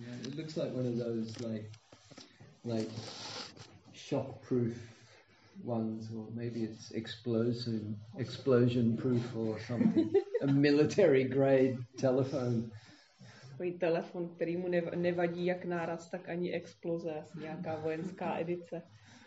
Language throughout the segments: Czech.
Yeah, it looks like one of those like shock-proof ones, or maybe it's explosion-proof or something. A military-grade telephone. Takový telefon, který mu nevadí jak náraz, tak ani exploze, asi nějaká vojenská edice.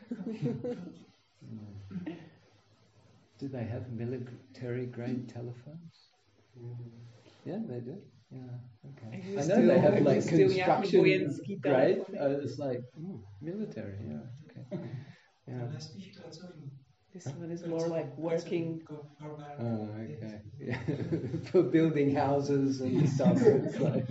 Do they have military-grade telephones? Yeah, they do. Yeah, okay. I know they have like construction grade. It's like military. Yeah, okay. Yeah. This one is more like working. Oh, okay. Yeah. For building houses and stuff. It's like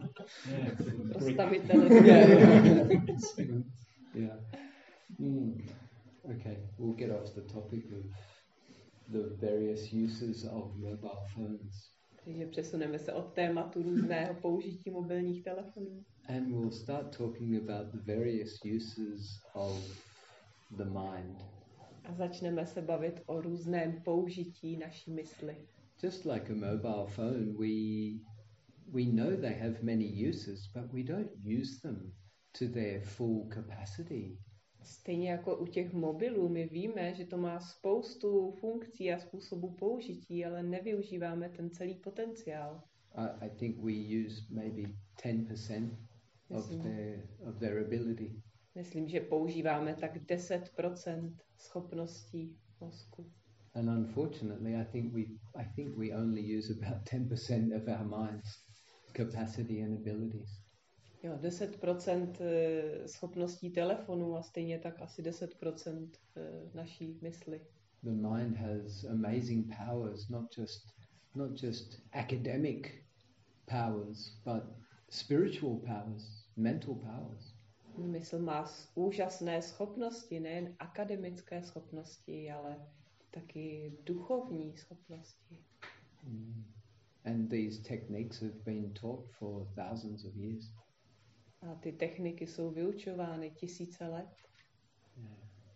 yeah. Okay, we'll get off the topic of the various uses of mobile phones. Takže přesuneme se od tématu různého použití mobilních telefonů. And we'll start talking about the various uses of the mind. A začneme se bavit o různém použití naší mysli. Just like a mobile phone, we know they have many uses, but we don't use them to their full capacity. Stejně jako u těch mobilů, my víme, že to má spoustu funkcí a způsobů použití, ale nevyužíváme ten celý potenciál. I think we use maybe 10% of their ability. Myslím, že používáme tak 10% schopností mozku. And unfortunately, I think we only use about 10% of our mind's capacity and abilities. Jo, 10% schopností telefonu a stejně tak asi 10% naší mysli. The mind has amazing powers, not just academic powers, but spiritual powers, mental powers. Mysl má úžasné schopnosti, nejen akademické schopnosti, ale taky duchovní schopnosti. And these techniques have been taught for thousands of years. A ty techniky jsou vyučovány tisíce let. Yeah.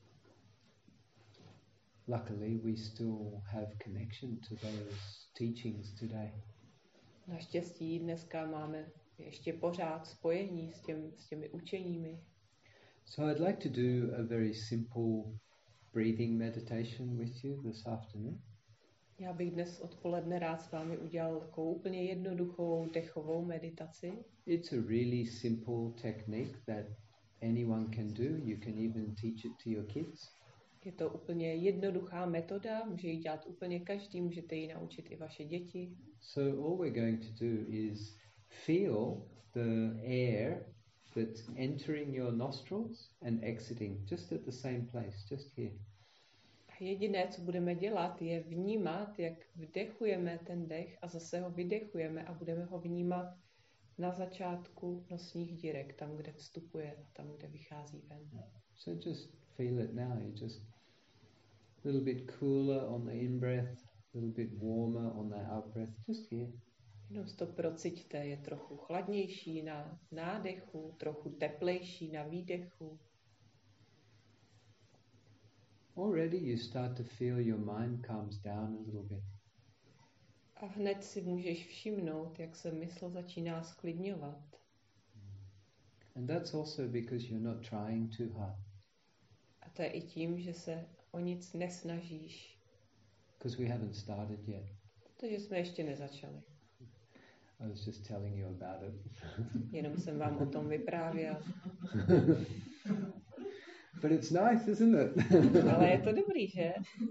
Luckily, we still have connection to those teachings today. Naštěstí dneska máme ještě pořád spojení s těmi učeními. So I'd like to do a very simple breathing meditation with you this afternoon. Já bych dnes odpoledne rád s vámi udělal takovou úplně jednoduchou dechovou meditaci. It's a really simple technique that anyone can do. You can even teach it to your kids. Je to úplně jednoduchá metoda, může ji dělat úplně každý, můžete ji naučit i vaše děti. So all we're going to do is feel the air that's entering your nostrils and exiting just at the same place, just here. A jediné, co budeme dělat, je vnímat, jak vdechujeme ten dech a zase ho vydechujeme a budeme ho vnímat na začátku nosních dírek, tam, kde vstupuje a tam, kde vychází ven. So just feel it now. You just a little bit cooler on the in-breath, a little bit warmer on the out-breath, just here. Jenom to prociťte, je trochu chladnější na nádechu, trochu teplejší na výdechu. Already you start to feel your mind calms down a little bit. A hned si můžeš všimnout, jak se mysl začíná sklidňovat. And that's also because you're not trying too hard. A to je i tím, že se o nic nesnažíš. Because we haven't started yet. Protože jsme ještě nezačali. I was just telling you about it. Jenom jsem vám o tom vyprávěl. But it's nice, isn't it? Ale je to dobrý, že?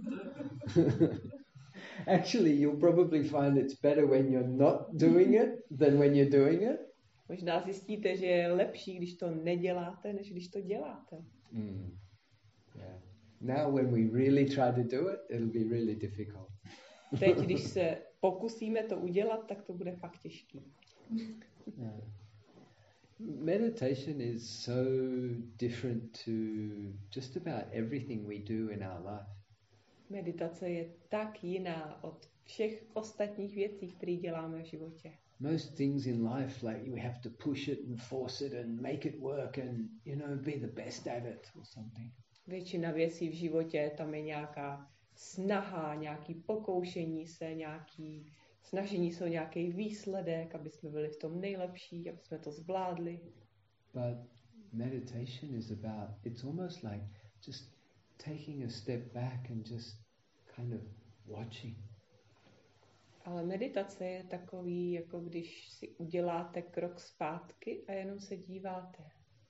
Actually, you'll probably find it's better when you're not doing it than when you're doing it. Možná zjistíte, že je lepší, když to neděláte, než když to děláte. Yeah. Now when we really try to do it, it'll be really difficult. Teď, když se pokusíme to udělat, tak to bude fakt těžký. Yeah. Meditation is so different to just about everything we do in our life. Meditace je tak jiná od všech ostatních věcí, které děláme v životě. Most things in life, like we have to push it and force it and make it work and, be the best at it or something. Většina věcí v životě, tam je nějaká snaha, nějaký pokoušení se, nějaký snažení se o nějaký výsledek, aby jsme byli v tom nejlepší, aby jsme to zvládli. But meditation is about, it's almost like just taking a step back and just kind of watching. Ale meditace je takový, jako když si uděláte krok zpátky a jenom se díváte.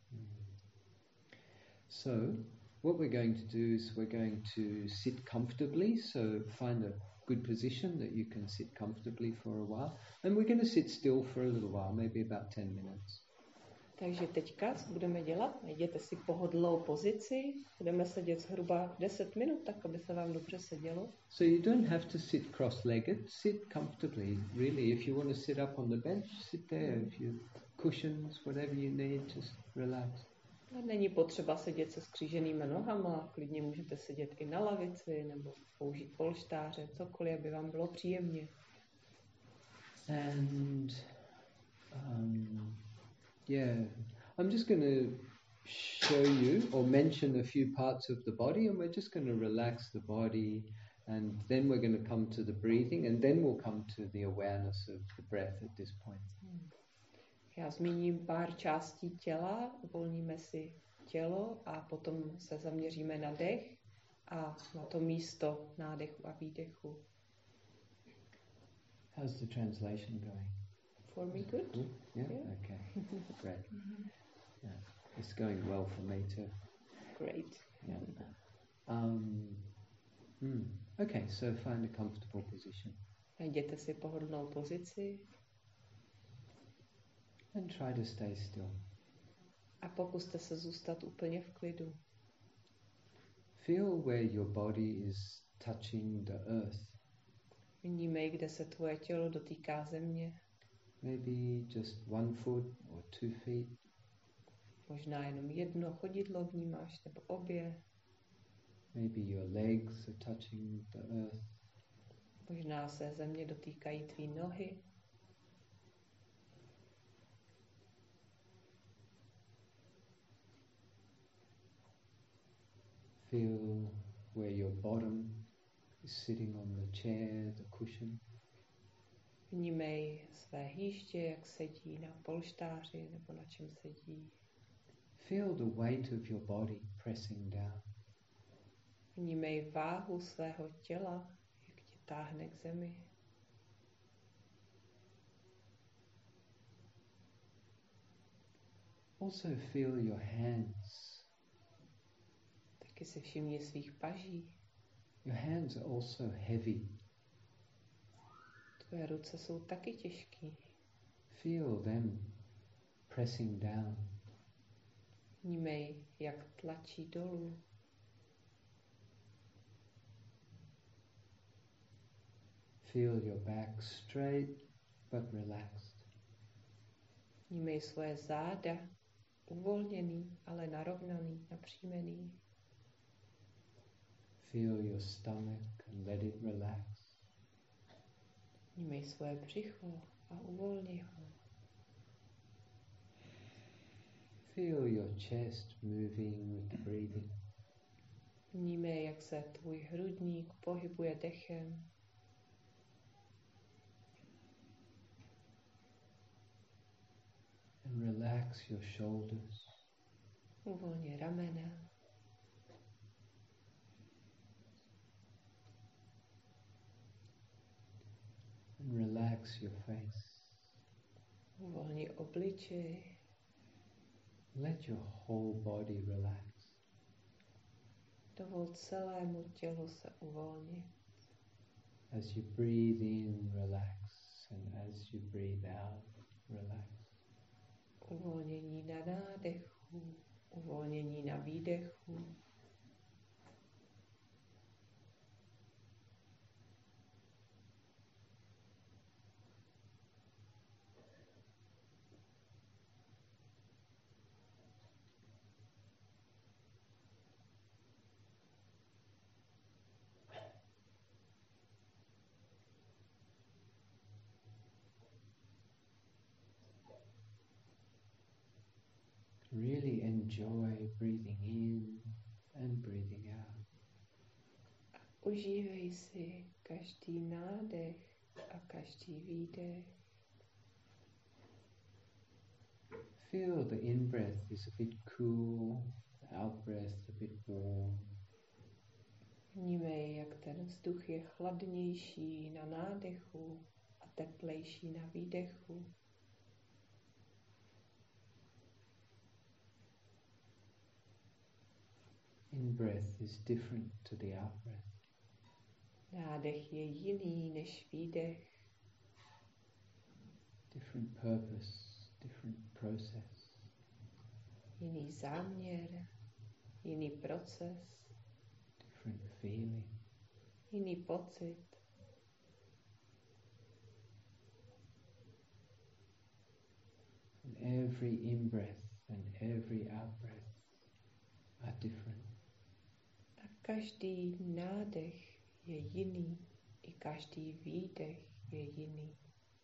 So, what we're going to do is we're going to sit comfortably, so find a good position that you can sit comfortably for a while. And we're going to sit still for a little while, maybe about 10 minutes. Takže teďka, co budeme dělat? Najděte si pohodlnou pozici, budeme sedět zhruba 10 minut, tak aby se vám dobře sedělo. So you don't have to sit cross-legged, sit comfortably. Really, if you want to sit up on the bench, sit there. If you cushions, whatever you need, just relax. Není potřeba sedět se skříženýma nohama, klidně můžete sedět i na lavici nebo použít polštáře, cokoliv, aby vám bylo příjemně. And yeah, I'm just going to show you or mention a few parts of the body, and we're just going to relax the body, and then we're going to come to the breathing, and then we'll come to the awareness of the breath at this point. Já zmíním pár částí těla, uvolníme si tělo a potom se zaměříme na dech a na to místo nádechu a výdechu. How's the translation going? For me good? Good? Yeah? Okay. Great. Yeah. It's going well for me too. Great. Yeah. Okay, so find a comfortable position. Najděte si pohodlnou pozici. And try to stay still. A pokuste se zůstat úplně v klidu. Feel where your body is touching the earth. Vnímej, kde se tvoje tělo dotýká země. Maybe just 1 foot or 2 feet. Možná jenom jedno chodidlo vnímáš, nebo obě. Maybe your legs are touching the earth. Možná se země dotýkají tvý nohy. Feel where your bottom is sitting on the chair, the cushion. Vnímej své hýště, jak sedí na polštáři nebo na čem sedí. Feel the weight of your body pressing down. Vnímej váhu svého těla, jak tě táhne k zemi. Also feel your hands. Taky si všimni svých paží. Your hands are also heavy. Tvoje ruce jsou taky těžký. Feel them pressing down. Vnímej, jak tlačí dolů. Feel your back straight but relaxed. Vnímej svoje záda, uvolněný, ale narovnaný, napřímený. Feel your stomach and let it relax. Vnímej svoje břicho a uvolni ho. Feel your chest moving with the breathing. Vnímej, jak se tvůj hrudník pohybuje dechem. And relax your shoulders. Uvolni ramena. And relax your face. Uvolni obličej. Let your whole body relax. Dovol celému tělu se uvolnit. As you breathe in, relax. And as you breathe out, relax. Uvolnění na nádechu, uvolnění na výdechu. Really enjoy breathing in and breathing out. Užívej si každý nádech A každý výdech. Feel the in-breath is a bit cool, the out-breath a bit warm. Vnímej, jak ten vzduch je chladnější na nádechu a teplejší na výdechu. In-breath is different to the out-breath. Nádech je jiný než výdech. Different purpose, different process. Jiný záměr, jiný proces, different feeling. Jiný pocit. And every in-breath and every out-breath are different. A každý nádech je jiný, i každý výdech je jiný.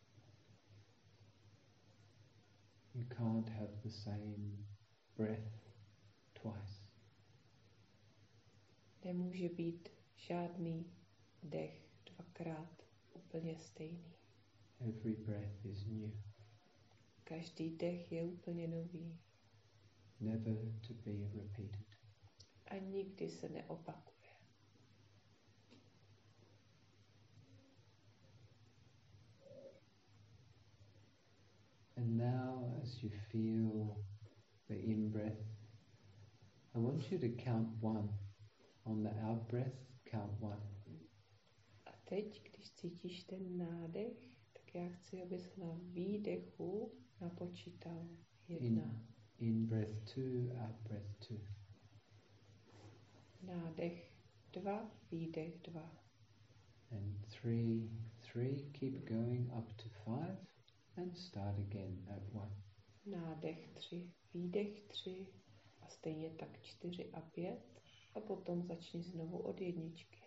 You can't have the same breath twice. Nemůže být žádný dech dvakrát úplně stejný. Every breath is new. Každý dech je úplně nový. Never to be repeated. A nikdy se neopakuje. And now, as you feel the in-breath, I want you to count one. On the out-breath, count one. A teď, když cítíš ten nádech, tak já chci, abys na výdechu napočítal 1. In-breath 2, out-breath 2. Nádech 2, výdech 2. And 3, 3, keep going up to 5 and start again at 1. Nádech 3, výdech 3 a stejně tak 4 a 5 a potom začni znovu od 1.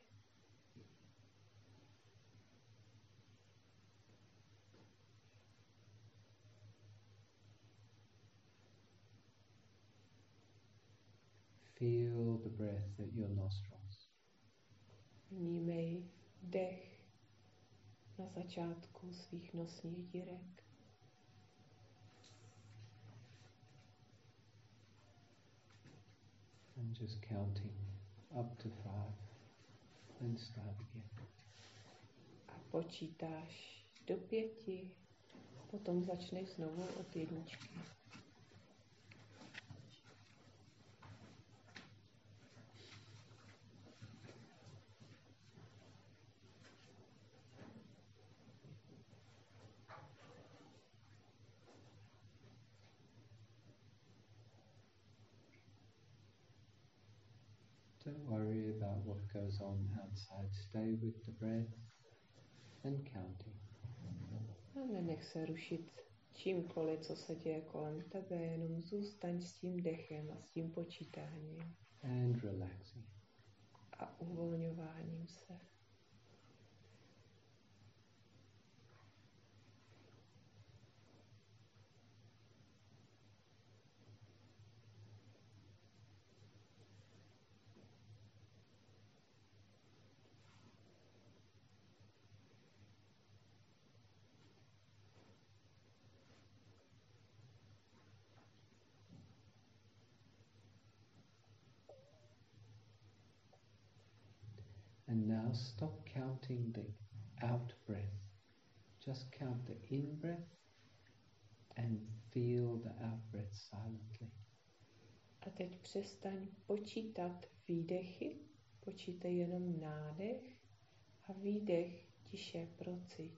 Feel the breath at your nostrils. Vnímej dech na začátku svých nosních dírek. And just counting up to 5 and start again. A počítáš do 5, potom začneš znovu od 1. Don't worry about what goes on outside. Stay with the breath and counting. A nenech se rušit čímkoliv, co se děje kolem tebe, jenom zůstaň s tím dechem a s tím počítáním. And relaxing. A uvolňováním se. And now stop counting the out breath. Just count the in breath and feel the out breath silently. A teď přestaň počítat výdechy, počítej jenom nádech a výdech tiše prociť.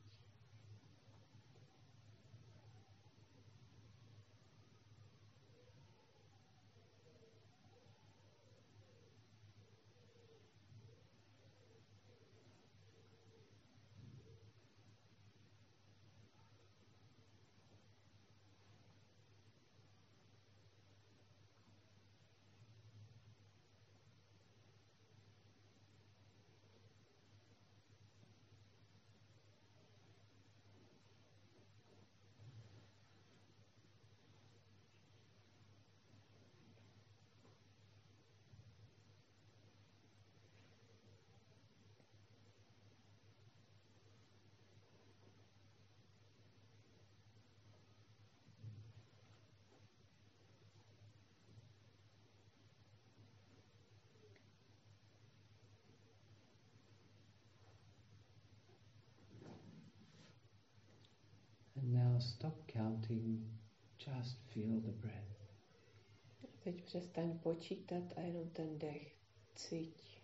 now stop counting, just feel the breath. Teď přestaň počítat a jenom ten dech cíť.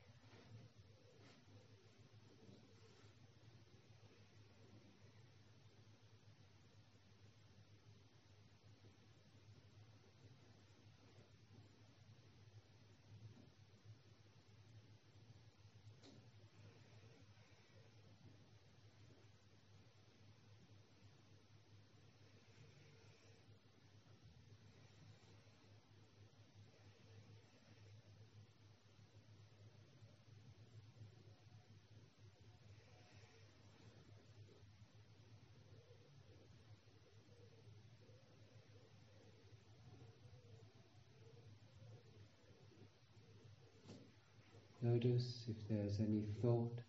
Notice if there's any thought.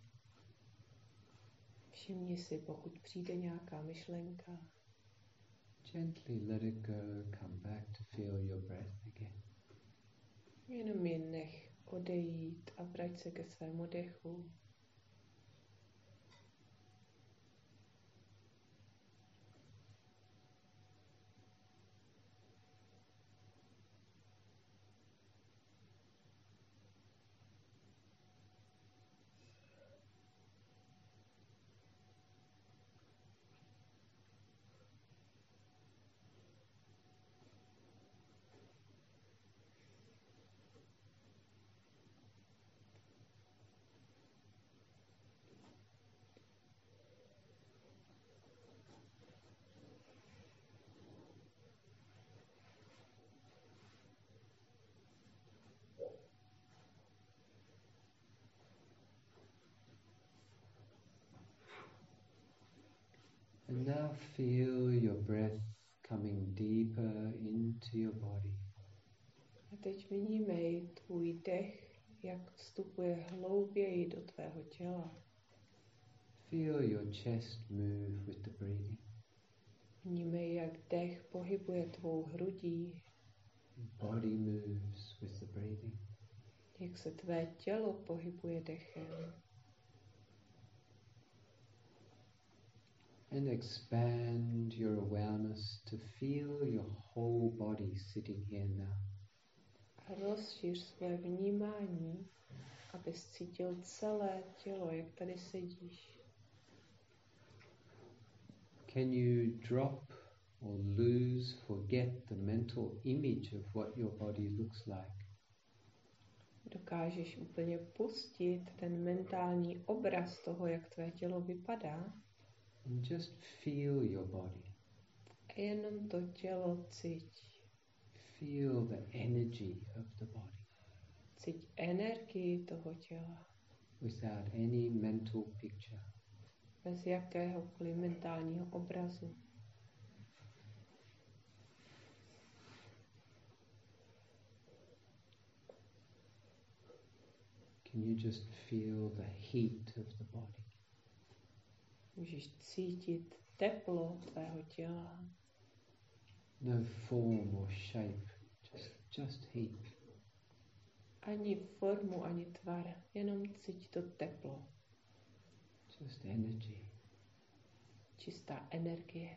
Všimni si, pokud přijde nějaká myšlenka. Gently let it go, come back to feel your breath again. Jenom je nech odejít a vrať se ke svému dechu. And now feel your breath coming deeper into your body. A teď vnímej tvůj dech, jak vstupuje hlouběji do tvého těla. Feel your chest move with the breathing. Vnímej, jak dech pohybuje tvou hrudí. Body moves with the breathing. Jak se tvé tělo pohybuje dechem. And expand your awareness to feel your whole body sitting here now. A rozšíř své vnímání, abys cítil celé tělo, jak tady sedíš. Can you drop or lose, forget the mental image of what your body looks like? Dokážeš úplně pustit ten mentální obraz toho, jak tvé tělo vypadá? And just feel your body. A jenom to tělo cíť. Feel the energy of the body. Cíť energii toho těla. Without any mental picture. Bez jakéhokoliv mentálního obrazu. Can you just feel the heat of the body? Můžeš cítit teplo tvého těla. No form or shape, just heat. Ani formu, ani tvar, jenom cíť to teplo. Just energy. Čistá energie.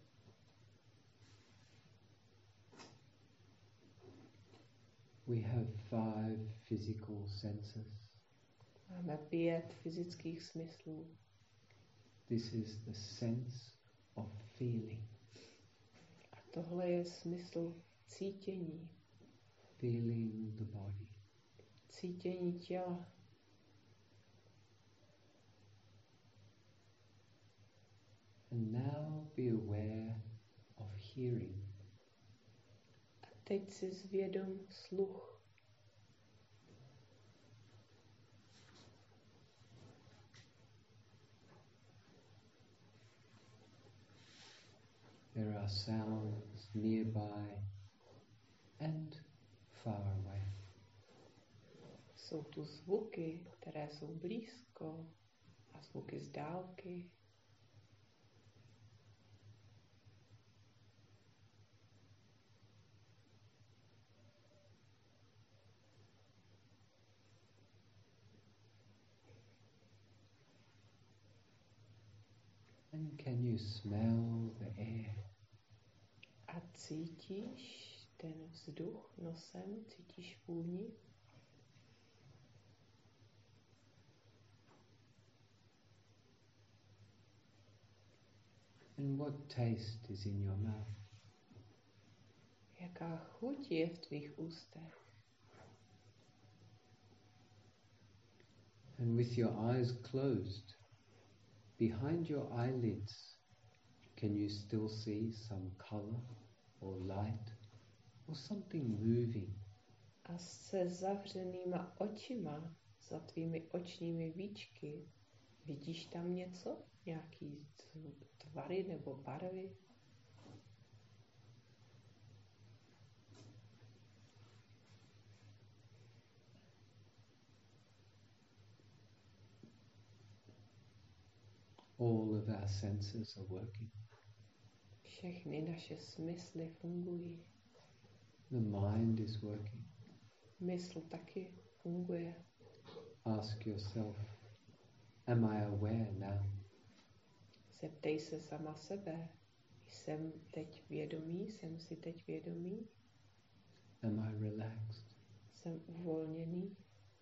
We have 5 physical senses. Máme 5 fyzických smyslů. This is the sense of feeling. A tohle je smysl cítění. Feeling the body. Cítění těla. And now be aware of hearing. A teď si zvědom sluch. There are sounds nearby and far away. Jsou tu zvuky, které jsou blízko a zvuky z dálky. And can you smell the air? A cítíš ten vzduch nosem, cítíš vůni? And what taste is in your mouth? Jaká chuť je v tvých ústech? And with your eyes closed, behind your eyelids, can you still see some color or light or something moving? A se zavřenýma očima, za tvými očními víčky, vidíš tam něco? Nějaký tvary nebo barvy? All of our senses are working. Všechny naše smysly fungují. The mind is working. Mysl taky funguje. Ask yourself, am I aware now? Zeptej se sama sebe. Jsem teď vědomý? Jsem si teď vědomý? Am I relaxed? Jsem uvolněný?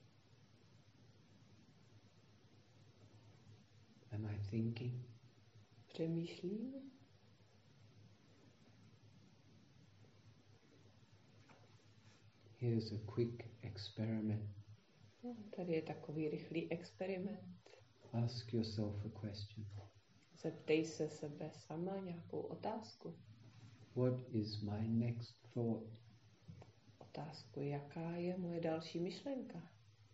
Am I thinking? Přemýšlím? Here's a quick experiment. No, tady je takový rychlý experiment. Ask yourself a question. Zeptej se sebe sama nějakou otázku. What is my next thought? Otázku, jaká je moje další myšlenka?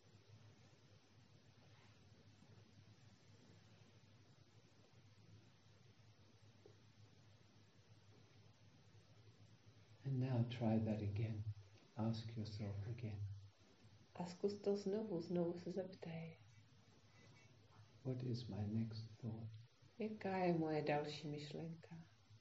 And now try that again. Ask yourself again. A zkus to znovu se zeptej. What is my next thought? Jaká je moje další myšlenka?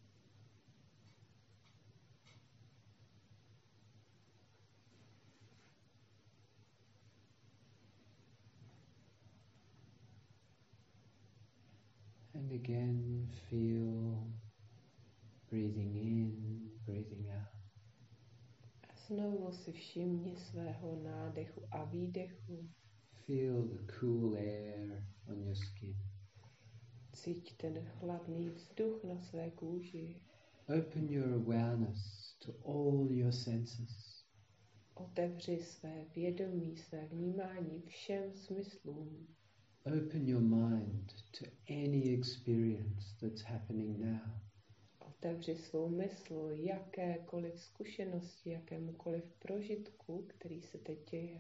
And again, feel breathing in, breathing out. A znovu si všimni svého nádechu a výdechu. Feel the cool air on your skin. Cíť ten chladný vzduch na své kůži. Open your awareness to all your senses. Otevři své vědomí, své vnímání všem smyslům. Open your mind to any experience that's happening now. Otevři svou mysl jakékoliv zkušenosti, jakémukoliv prožitku, který se teď děje.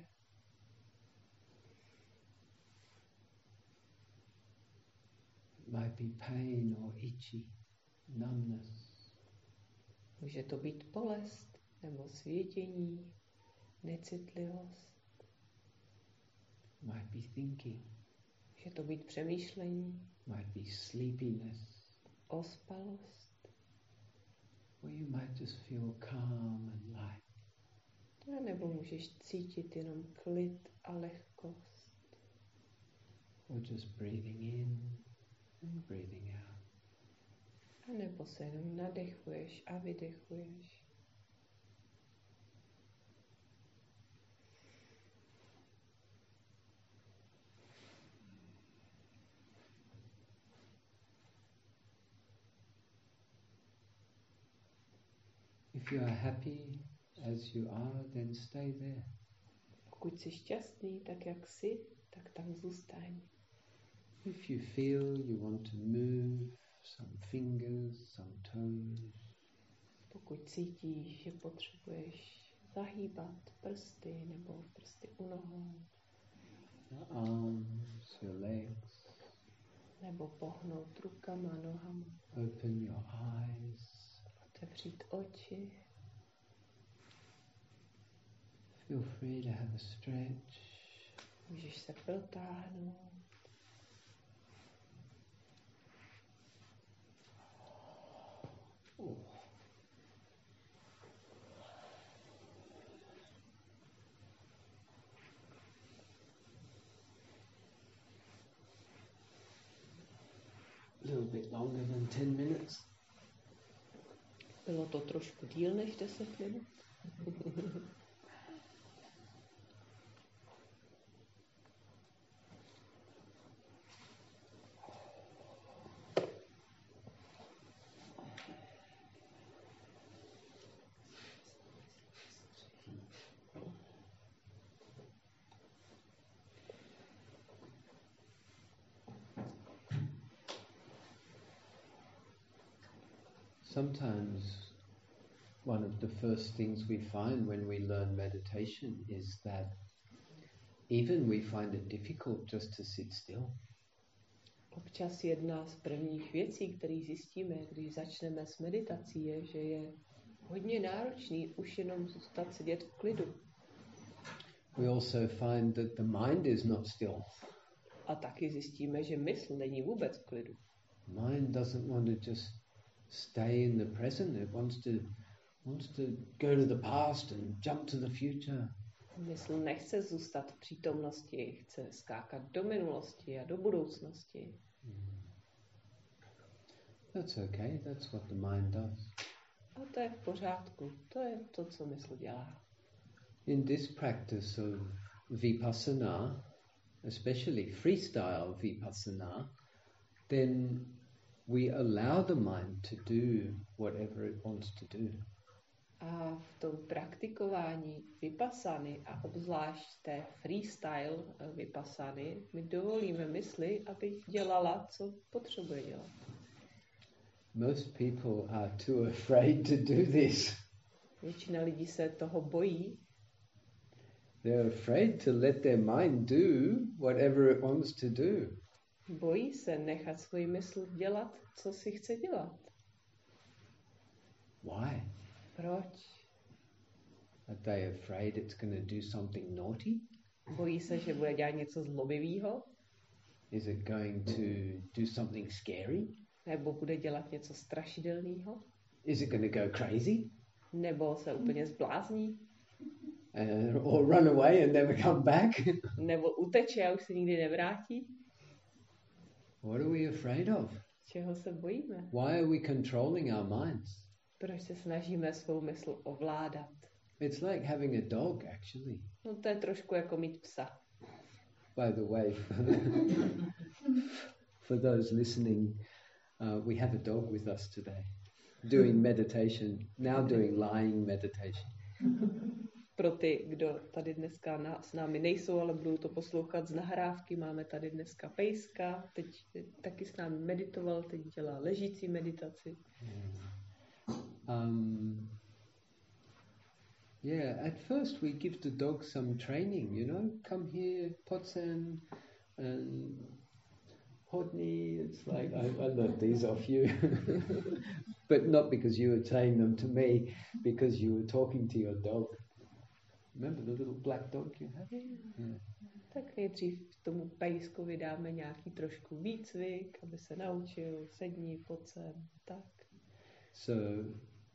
It might be pain or itchy, numbness. Může to být bolest nebo svědění, necitlivost. Might be thinking. Může to být přemýšlení, Might be sleepiness. ospalost. Or you might just feel calm and light. A nebo můžeš cítit jenom klid a lehkost. Or just breathing in and breathing out. A nebo se jenom nadechuješ a vydechuješ. If you are happy as you are, then stay there. Pokud jsi šťastný, tak jak jsi, tak tam zůstaň. If you feel you want to move some fingers, some toes, Pokud cítíš, že potřebuješ zahýbat prsty nebo prsty u nohou, your arms, your legs, nebo pohnout rukama, nohama, open your eyes, otevřít oči, feel free to have a stretch. můžeš se protáhnout. Little bit longer than 10 minutes. Bylo to trošku díl než 10 minut. Sometimes one of the first things we find when we learn meditation is that even we find it difficult just to sit still. Občas jedna z prvních věcí, které zjistíme, když začneme s meditací, je, že je hodně náročný už jenom zůstat sedět v klidu. We also find that the mind is not still. A taky zjistíme, že mysl není vůbec v klidu. Mind doesn't want to just stay in the present. It wants to go to the past and jump to the future. Mysl nechce zůstat v přítomnosti, chce skákat do minulosti a do budoucnosti. That's okay. That's what the mind does. A to je v pořádku. To je to, co mysl dělá. In this practice of vipassana, especially freestyle vipassana, then we allow the mind to do whatever it wants to do. A v tom praktikování vipassany a obzvlášť té freestyle vipassany my dovolíme mysli, aby dělala, co potřebuje dělat. Most people are too afraid to do this. Většina lidí se toho bojí. They're afraid to let their mind do whatever it wants to do. Bojí se nechat svůj mysl dělat, co si chce dělat. Why? Proč? Are they afraid it's going to do something naughty? Bojí se, že bude dělat něco zlobivého? Is it going to do something scary? Nebo bude dělat něco strašidelného? Is it going to go crazy? Nebo se úplně zblázní? Or run away and never come back? Nebo uteče a už se nikdy nevrátí? What are we afraid of? Čeho se bojíme? Why are we controlling our minds? Proč se snažíme svou mysl ovládat? It's like having a dog, actually. No to je trošku jako mít psa. By the way, for those listening, we have a dog with us today, doing meditation, now doing lying meditation. Pro ty, kdo tady dneska s námi nejsou, ale budou to poslouchat z nahrávky, máme tady dneska pejska, teď taky s námi meditoval, teď dělá ležící meditaci. Yeah, at first we give the dog some training, you know, come here, Potsen, and Hodney. It's like, I learned these off you. But not because you were saying them to me, because you were talking to your dog. Remember the little black dog you had? Yeah. Tak nejdřív tomu pejskovi dáme nějaký trošku výcvik, aby se naučil, sedni, pojď sem, tak. So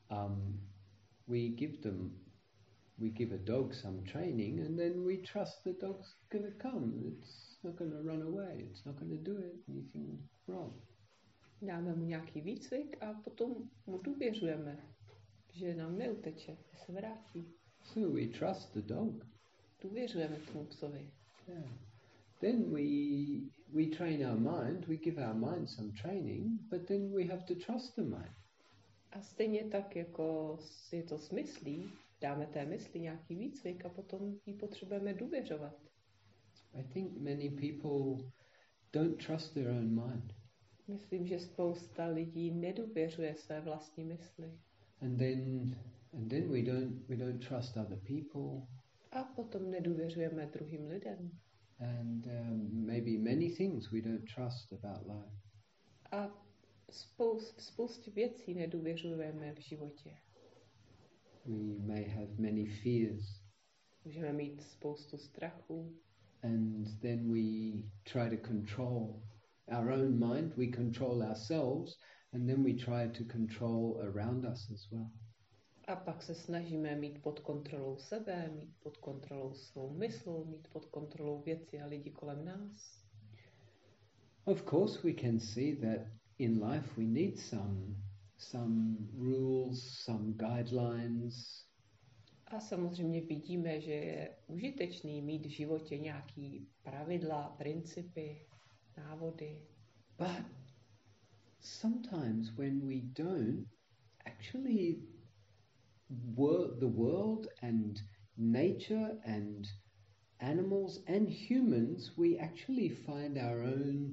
we give a dog some training, and then we trust the dog's going to come. It's not going to run away. It's not going to do anything wrong. Dáme mu nějaký výcvik a potom mu důvěřujeme, že nám neuteče, že se vrátí. So we trust the dog. Důvěřujeme tomu psovi. Yeah. Then we train our mind. We give our mind some training, but then we have to trust the mind. A stejně tak, jako je to s myslí, dáme té mysli nějaký výcvik a potom jí potřebujeme důvěřovat. I think many people don't trust their own mind. Myslím, že spousta lidí nedůvěřuje své vlastní mysli. And then we don't trust other people. A potom nedůvěřujeme druhým lidem. And maybe many things we don't trust about life. A spoustě věcí nedůvěřujeme v životě. We may have many fears. Můžeme mít spoustu strachu. And then we try to control our own mind. We control ourselves, and then we try to control around us as well. A pak se snažíme mít pod kontrolou sebe, mít pod kontrolou svou mysl, mít pod kontrolou věci a lidi kolem nás. Of course we can see that in life we need some rules, some guidelines. A samozřejmě vidíme, že je užitečný mít v životě nějaký pravidla, principy, návody. But sometimes when we don't, actually the world and nature and animals and humans, we actually find our own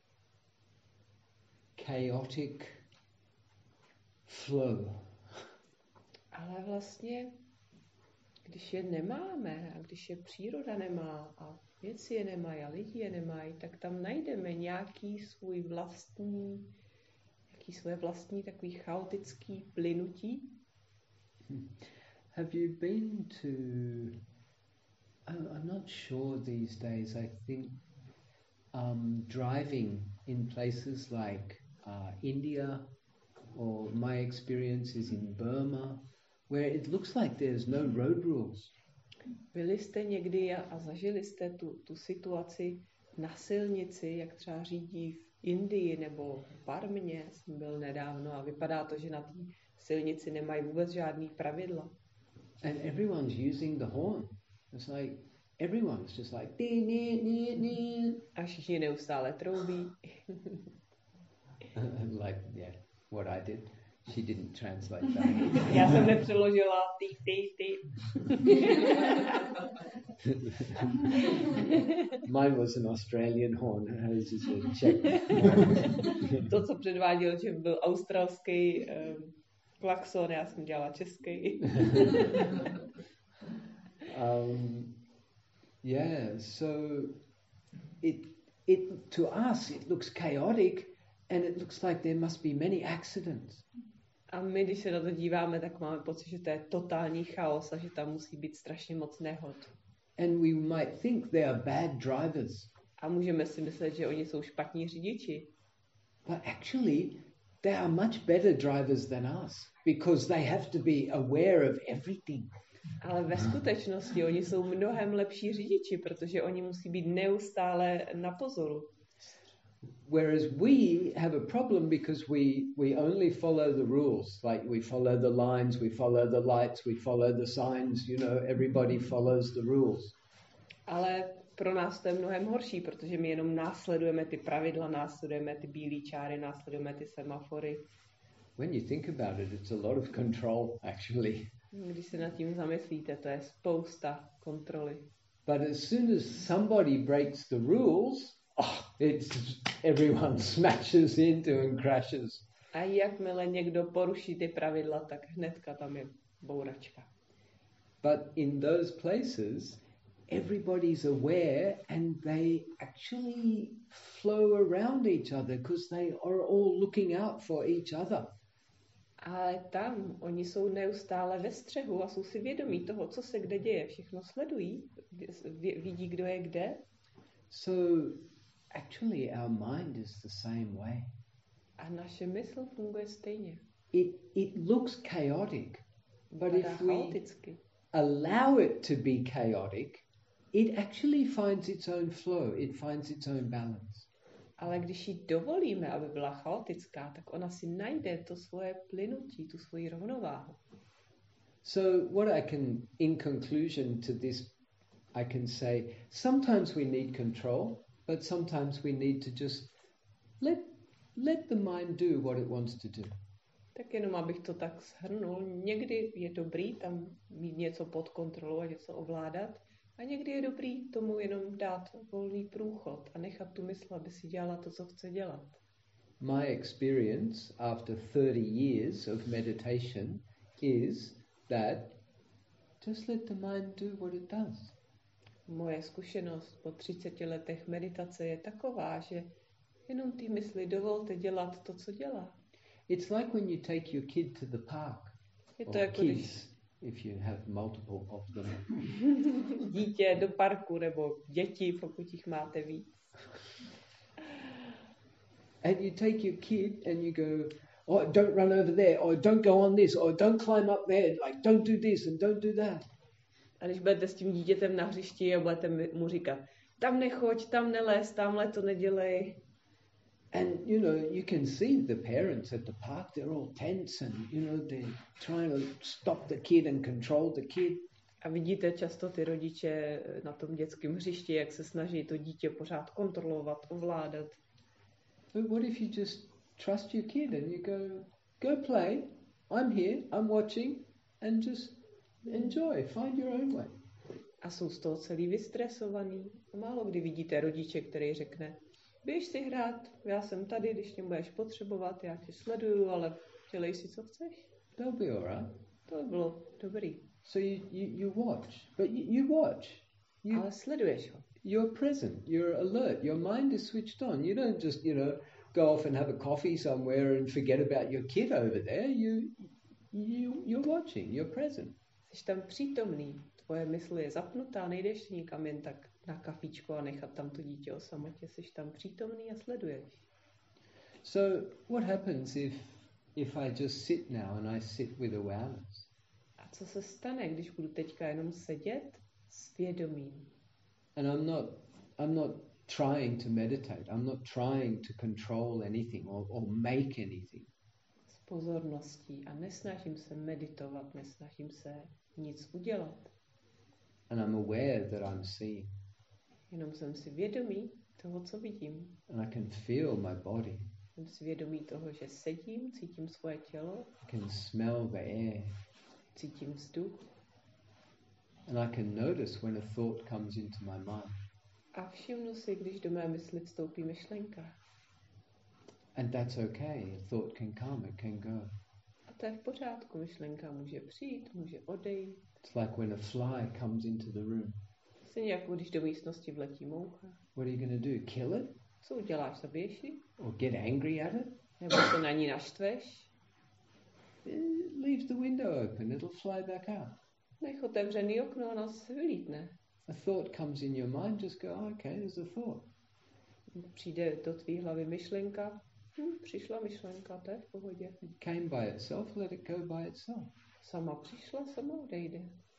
chaotic flow. Ale vlastně, když je nemáme a když je příroda nemá a věci je nemají a lidi je nemají, tak tam najdeme nějaký svoje vlastní takový chaotický plynutí. Have you been to, I'm not sure these days, I think driving in places like India, or my experience is in Burma, where it looks like there's no road rules. Byli jste někdy a zažili jste tu situaci na silnici, jak třeba řídí v Indii nebo v Barmě, jsem byl nedávno a vypadá to, že na té silnici nemají vůbec žádný pravidla. And everyone's using the horn. It's like everyone's just like dee, dee, dee, dee. A všichni neustále troubí. Like, yeah, what I did. She didn't translate that. Já jsem nepřeložila ty. Mine was an Australian horn, hers is a Czech. To, co předváděl, že byl australský klakson, já jsem dělala český. Yeah, so it to us it looks chaotic, and it looks like there must be many accidents. A my, když se na to díváme, tak máme pocit, že to je totální chaos a že tam musí být strašně moc nehod. And we might think they are bad drivers. A můžeme si myslet, že oni jsou špatní řidiči. But actually, they are much better drivers than us, because they have to be aware of everything. Ale ve skutečnosti oni jsou mnohem lepší řidiči, protože oni musí být neustále na pozoru. Whereas we have a problem because we only follow the rules. Like we follow the lines, we follow the lights, we follow the signs, you know, everybody follows the rules. Ale pro nás to je mnohem horší, protože my jenom následujeme ty pravidla, následujeme ty bílé čáry, následujeme ty semafory. When you think about it, it's a lot of control, actually. Když se nad tím zamyslíte, to je spousta kontroly. But as soon as somebody breaks the rules, everyone smashes into and crashes. A jakmile někdo poruší ty pravidla, tak hnedka tam je bouračka. But in those places, everybody's aware and they actually flow around each other because they are all looking out for each other. Ale tam oni jsou neustále ve střehu a jsou si vědomí toho, co se kde děje. Všechno sledují, vidí, kdo je kde. So actually our mind is the same way. A naše mysl funguje stejně. It looks chaotic, but if we chaoticky. Allow it to be chaotic, it actually finds its own flow, it finds its own balance. Ale když jí dovolíme, aby byla chaotická, tak ona si najde to svoje plynutí, tu svoji rovnováhu. So what I can, in conclusion to this, I can say, sometimes we need control, but sometimes we need to just let the mind do what it wants to do. Tak jenom abych to tak shrnul, někdy je dobrý tam mít něco pod kontrolou a něco ovládat, a někdy je dobrý tomu jenom dát volný průchod a nechat tu mysl, aby si dělala to, co chce dělat. My experience after 30 years of meditation is that just let the mind do what it does. Moje zkušenost po 30 letech meditace je taková, že jenom ty mysli dovolte dělat to, co dělá. It's like when you take your kid to the park. Je to jako kids, if you have multiple of them. Dítě do parku nebo děti, pokud jich máte víc. And you take your kid and you go, oh, don't run over there, or don't go on this, or don't climb up there, like don't do this and don't do that. A když budete s tím dítětem na hřišti a budete mu říkat, tam nechoď, tam nelez, tamhle to nedělej. And, you know, you can see the parents at the park, they're all tense and, you know, they're trying to stop the kid and control the kid. A vidíte často ty rodiče na tom dětském hřišti, jak se snaží to dítě pořád kontrolovat, ovládat. But what if you just trust your kid and you go play, I'm here, I'm watching, and just enjoy, find your own way. A jsou z toho celý vystresovaný. Málo kdy vidíte rodiče, který řekne, běž si hrát, já jsem tady, když mě budeš potřebovat, já tě sleduju, ale dělej si, co chceš. They'll be all right. To by bylo dobrý. So you watch, but you watch. Ale sleduješ ho. You're present, you're alert, your mind is switched on. You don't just, you know, go off and have a coffee somewhere and forget about your kid over there. You're watching, you're present. Jsi tam přítomný, tvoje mysl je zapnutá, nejdeš nikam jen tak na kafičko a nechat tam to dítě o samotě. Jsi tam přítomný a sleduješ. So what happens if I just sit now and I sit with awareness? A co se stane, když budu teďka jenom sedět s vědomím? And I'm not trying to meditate. I'm not trying to control anything or make anything. S pozorností a nesnažím se meditovat, nesnažím se nic udělat. And I'm aware that I'm seeing. Jenom jsem si vědomý toho, co vidím. And I can feel my body. Jsem si vědomý toho, že sedím, cítím svoje tělo. I can smell the air. Cítím vzduch. And I can notice when a thought comes into my mind. A všimnu si, když do mé mysli vstoupí myšlenka. And that's okay. A thought can come, it can go. A to je v pořádku. Myšlenka může přijít, může odejít. It's like when a fly comes into the room. Stejně jako když do místnosti vletí moucha. What are you going to do? Kill it? Co uděláš, zabiješ ji? Or get angry at it? Nebo se na ní naštveš? Leave the window open, it'll fly back out. Nech otevřený okno a nás se vylítne. A thought comes in your mind, just go, oh, okay, there's a thought. Přijde do tvý hlavy myšlenka. Přišla myšlenka, to je v pohodě. It came by itself, let it go by itself. Sama přišla, sama odejde.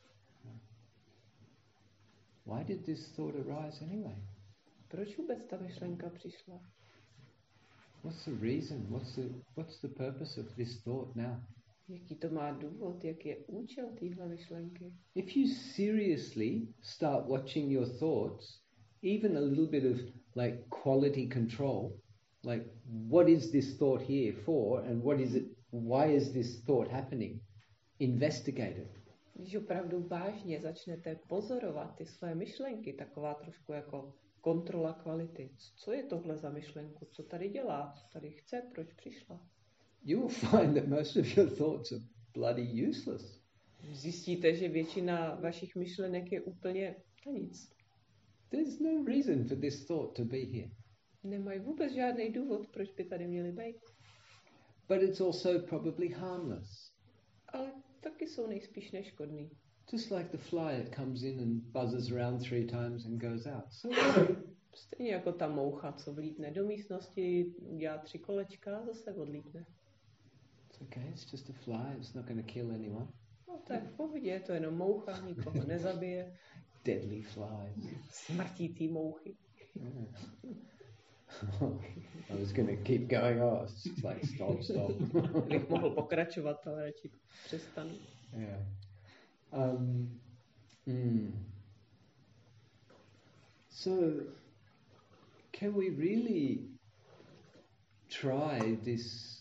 Why did this thought arise anyway? Proč vůbec ta myšlenka přišla? What's the reason? What's the purpose of this thought now? Jaký to má důvod? Jak je účel téhle myšlenky? If you seriously start watching your thoughts, even a little bit of like quality control, like what is this thought here for and what is it, why is this thought happening? Investigate it. Když opravdu vážně začnete pozorovat ty své myšlenky, taková trošku jako kontrola kvality. Co je tohle za myšlenku? Co tady dělá? Co tady chce? Proč přišla? You will find that most of your thoughts are bloody useless. Zjistíte, že většina vašich myšlenek je úplně na nic. There's no reason for this thought to be here. Nemají vůbec žádný důvod, proč by tady měly být. But it's also probably harmless. Ale taky jsou nejspíš neškodný. Just like the fly, it comes in and buzzes around 3 times and goes out. So stejně jako ta moucha, co vlítne do místnosti, dělá 3 kolečka a zase odlítne. It's okay, it's just a fly, it's not going to kill anyone. No to je v pohodě, je to jenom moucha, nikoho nezabije. Deadly flies. Smrtící mouchy. Yeah. I was going to keep going on. It's like stop. Bych mohl pokračovat, ale radši přestanu. Yeah. So, can we really try this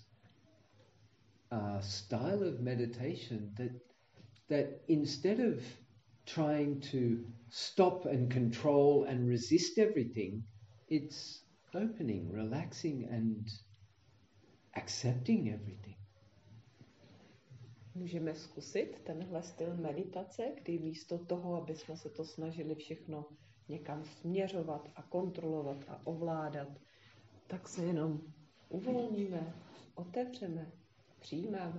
style of meditation that instead of trying to stop and control and resist everything, it's opening, relaxing and accepting everything? Můžeme zkusit tenhle styl meditace, kdy místo toho, aby jsme se to snažili všechno někam směřovat a kontrolovat a ovládat, tak se jenom uvolníme, otevřeme, přijímáme.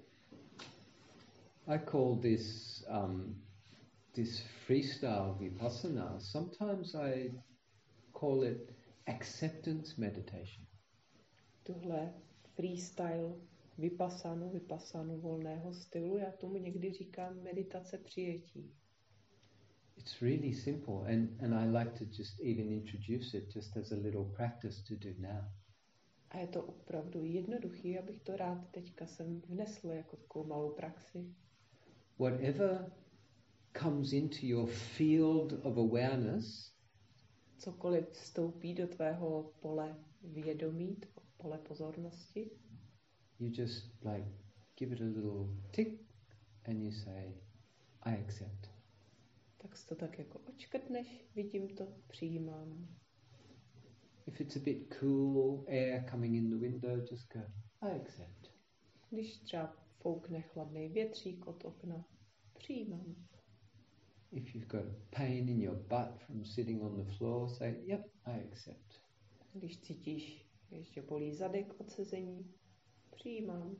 I call this freestyle vipassana. Sometimes I call it acceptance meditation. Tuhle freestyle vipassanu volného stylu, já tomu někdy říkám meditace přijetí. It's really simple and I like to just even introduce it just as a little practice to do now. A je to opravdu jednoduchý, abych to rád teďka sem vnesl jako takovou malou praxi. Whatever comes into your field of awareness, cokoliv vstoupí do tvého pole vědomí, pole pozornosti, you just like give it a little tick and you say, I accept. Tak si to tak jako očkrtneš, vidím to, přijímám. If it's a bit cool air coming in the window, just go, I accept. Když třeba foukne chladný větřík od okna, přijímám. If you've got pain in your butt from sitting on the floor, say, yep, I accept. Když cítíš, že bolí zadek od sezení, přijímám.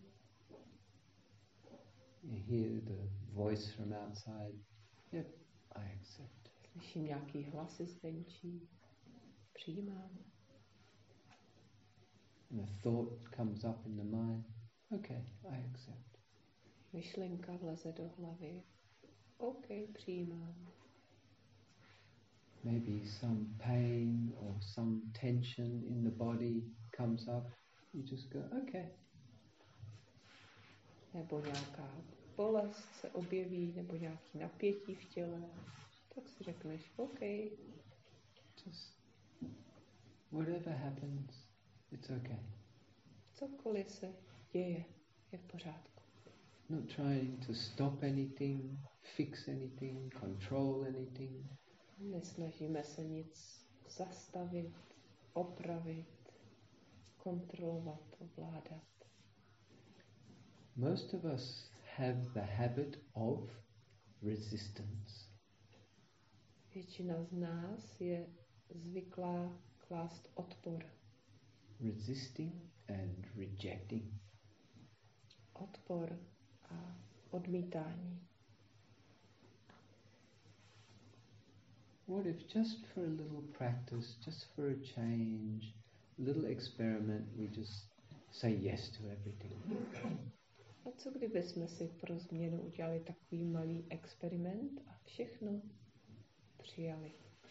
You hear the voice from outside, yep, I accept. Slyším nějaký hlasy zvenčí, přijímám. And a thought comes up in the mind, okay, I accept. Myšlenka vleze do hlavy, OK, přijímám. Maybe some pain or some tension in the body comes up, you just go, okay. Nebo nějaká bolest se objeví, nebo nějaký napětí v těle, tak si řekneš, OK. Just whatever happens, it's okay. Cokoliv se děje, je v pořádku. Not trying to stop anything, fix anything, control anything. Nesnažíme se nic zastavit, opravit, kontrolovat, ovládat. Most of us have the habit of resistance. Většina z nás je zvyklá klást odpor. Resisting and rejecting. Odpor a odmítání. What if just for a little practice, just for a change, a little experiment, we just say yes to everything? A co kdyby jsme si pro změnu udělali takový malý experiment a všechno přijali?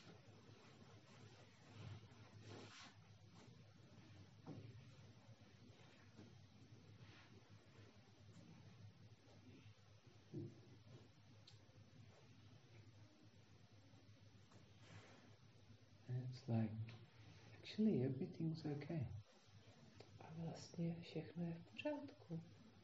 It's like, actually everything's okay. A vlastně všechno je v pořádku.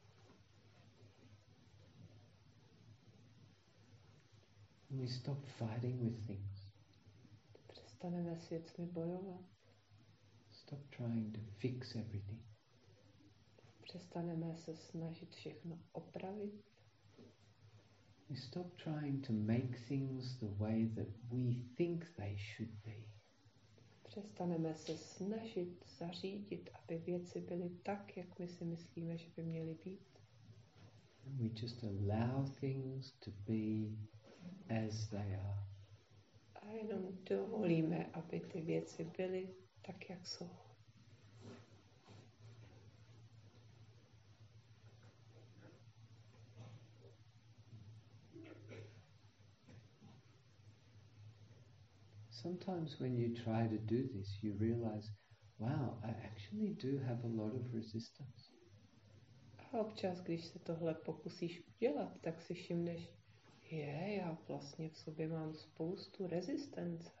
We stop fighting with things. Přestaneme s věcmi bojovat. Stop trying to fix everything. Přestaneme se snažit všechno opravit. We stop trying to make things the way that we think they should be. Přestaneme se snažit zařídit, aby věci byly tak, jak my si myslíme, že by měly být. And we just allow things to be as they are. A jenom dovolíme, aby ty věci byly tak, jak jsou. Sometimes when you try to do this, you realize, wow, I actually do have a lot of resistance. A občas, když se tohle pokusíš udělat, tak si všimneš, já vlastně v sobě mám spoustu rezistence.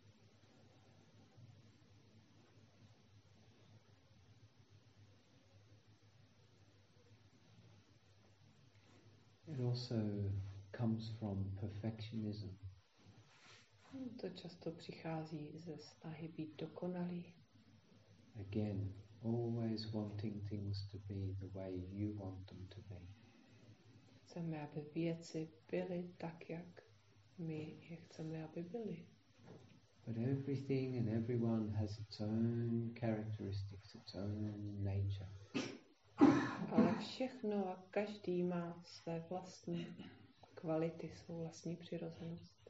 It also comes from perfectionism. To často přichází ze snahy být dokonalý. Again, always wanting things to be the way you want them to be. Chceme, aby věci byly tak, jak my je chceme, aby byly. But everything and everyone has its own characteristics, its own nature. Ale všechno a každý má své vlastní kvality, svou vlastní přirozenost.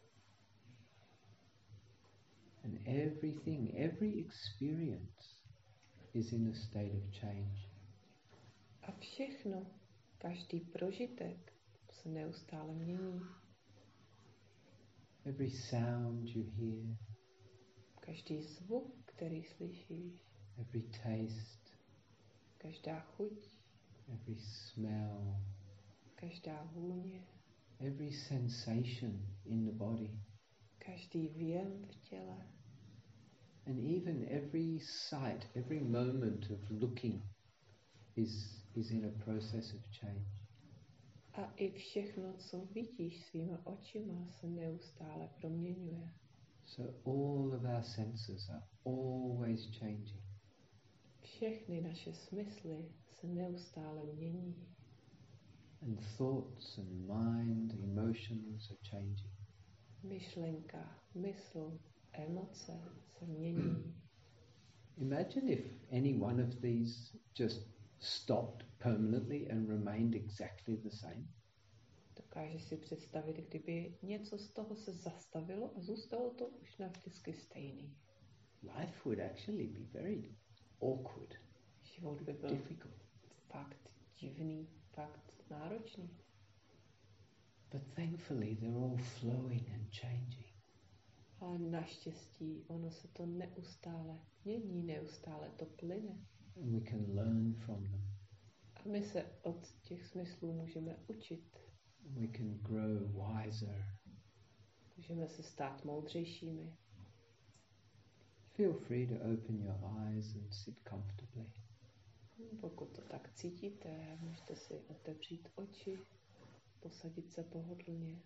And everything, every experience is in a state of change. A všechno, každý prožitek se neustále mění. Every sound you hear, Každý zvuk, který slyšíš, every taste, Každá chuť, every smell, každá vůně, every sensation in the body, každý věm v těle, and even every sight, every moment of looking is in a process of change. A i všechno, co vidíš svýma očima, se neustále proměňuje. So all of our senses are always changing. Všechny naše smysly se neustále mění. And thoughts and mind, emotions are changing. Myšlenka, mysl, emoce se mění. Imagine if any one of these just stopped permanently and remained exactly the same. Dokážeš si představit, kdyby něco z toho se zastavilo a zůstalo to už navždycky stejný. Life would actually be very awkward. Život by byl difficult. Fakt divný, fakt náročný. But thankfully they're all flowing and changing. Ale naštěstí ono se to neustále mění, neustále to plyne. And we can learn from them. A my se od těch smyslů můžeme učit. We can grow wiser. Můžeme se stát moudřejšími. Feel free to open your eyes and sit comfortably. Pokud to tak cítíte, můžete si otevřít oči, posadit se pohodlně.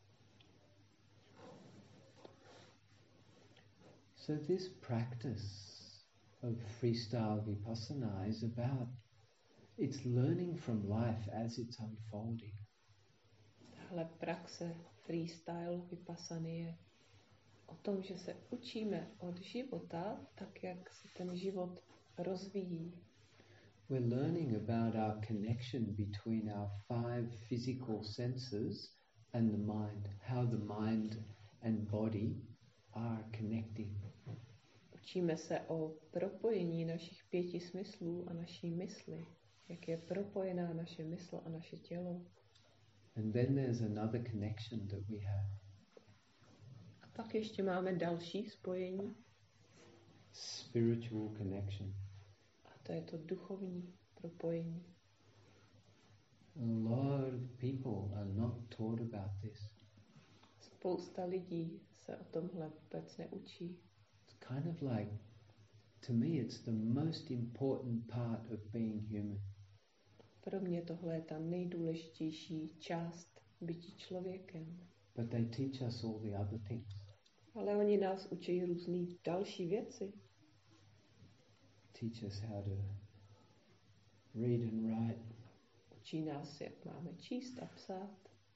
So this practice of freestyle vipassana is about, it's learning from life as it's unfolding. Tahle praxe freestyle vipassany je o tom, že se učíme od života, tak jak se ten život rozvíjí. We're learning about our connection between our 5 physical senses and the mind, how the mind and body are connecting. Učíme se o propojení našich 5 smyslů a naší mysli, jak je propojená naše mysl a naše tělo. And then there's another connection that we have. A pak ještě máme další spojení. Spiritual connection. A to je to duchovní propojení. A lot of people are not taught about this. Spousta lidí se o tomhle vůbec neučí. It's kind of like, to me it's the most important part of being human. Pro mě tohle je ta nejdůležitější část bytí člověkem. But they teach us all the other things. Ale oni nás učí různé další věci. Teach us how to read and write. Učí nás, jak máme číst a psát.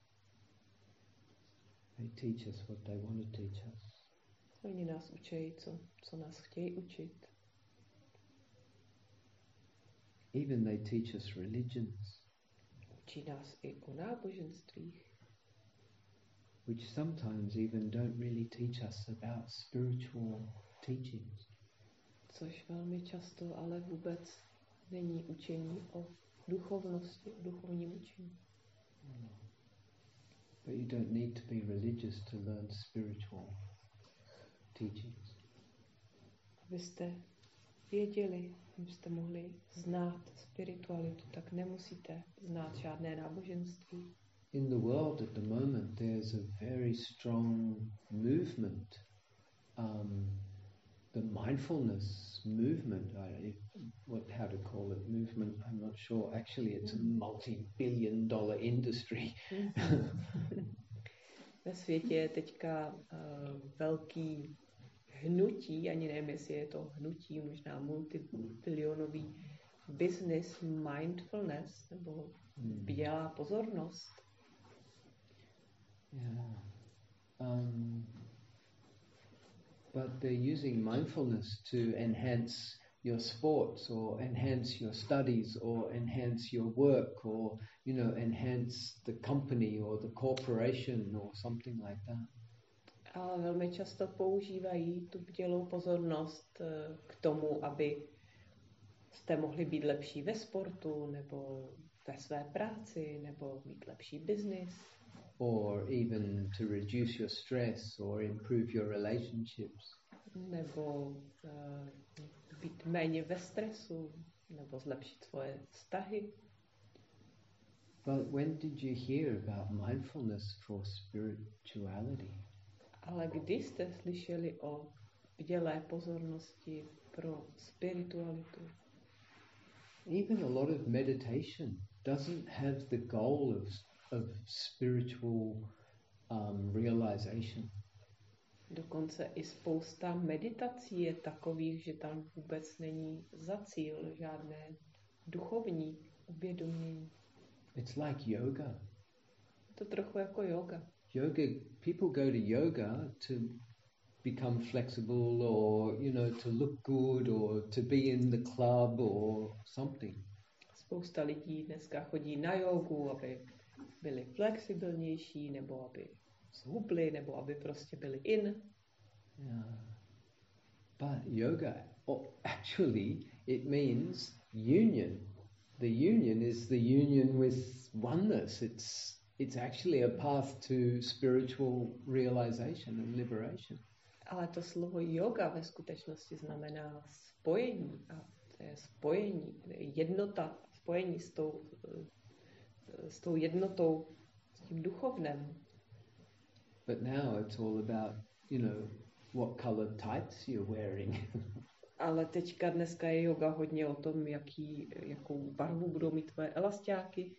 They teach us what they want to teach us. Oni nás učí, co nás chtějí učit. Even they teach us religions. Učí nás i o náboženstvích. Which sometimes even don't really teach us about spiritual teachings. Což velmi často ale vůbec není učení o duchovnosti, o duchovním učení. But you don't need to be religious to learn spiritual teachings. Abyste věděli, abyste mohli znát spiritualitu, tak nemusíte znát žádné náboženství. In the world at the moment there's a very strong movement. The mindfulness movement, how to call it movement, I'm not sure. Actually it's a multi-billion-dollar industry. Ve světě je teďka velký hnutí, ani nevím, jestli je to hnutí, možná multibilionový business mindfulness, nebo bdělá pozornost. Yeah. But they're using mindfulness to enhance your sports or enhance your studies or enhance your work or, enhance the company or the corporation or something like that. A velmi často používají tu bdělou pozornost k tomu, aby jste mohli být lepší ve sportu nebo ve své práci nebo mít lepší biznis. Or even to reduce your stress or improve your relationships. Nebo být méně ve stresu, nebo zlepšit svoje vztahy. But when did you hear about mindfulness for spirituality? Ale kdy jste slyšeli o bdělé pozornosti pro spiritualitu? Even a lot of meditation doesn't have the goal of spiritual realization. Dokonce i spousta meditací je takových, že tam vůbec není za cíl žádné duchovní uvědomění. It's like yoga. To trochu jako yoga. People go to yoga to become flexible, or to look good, or to be in the club or something. Spousta lidí dneska chodí na jogu, aby byli flexibilnější, nebo aby zhubli, nebo aby prostě byli in. Yeah. But yoga, actually, it means union. The union is the union with oneness. It's actually a path to spiritual realization and liberation. Ale to slovo yoga ve skutečnosti znamená spojení. A to je spojení, jednota, spojení s tou jednotou, s tím duchovnem. But now it's all about, what colored tights you're wearing. Ale teďka dneska je yoga hodně o tom, jakou barvu budou mít tvoje elastiáky.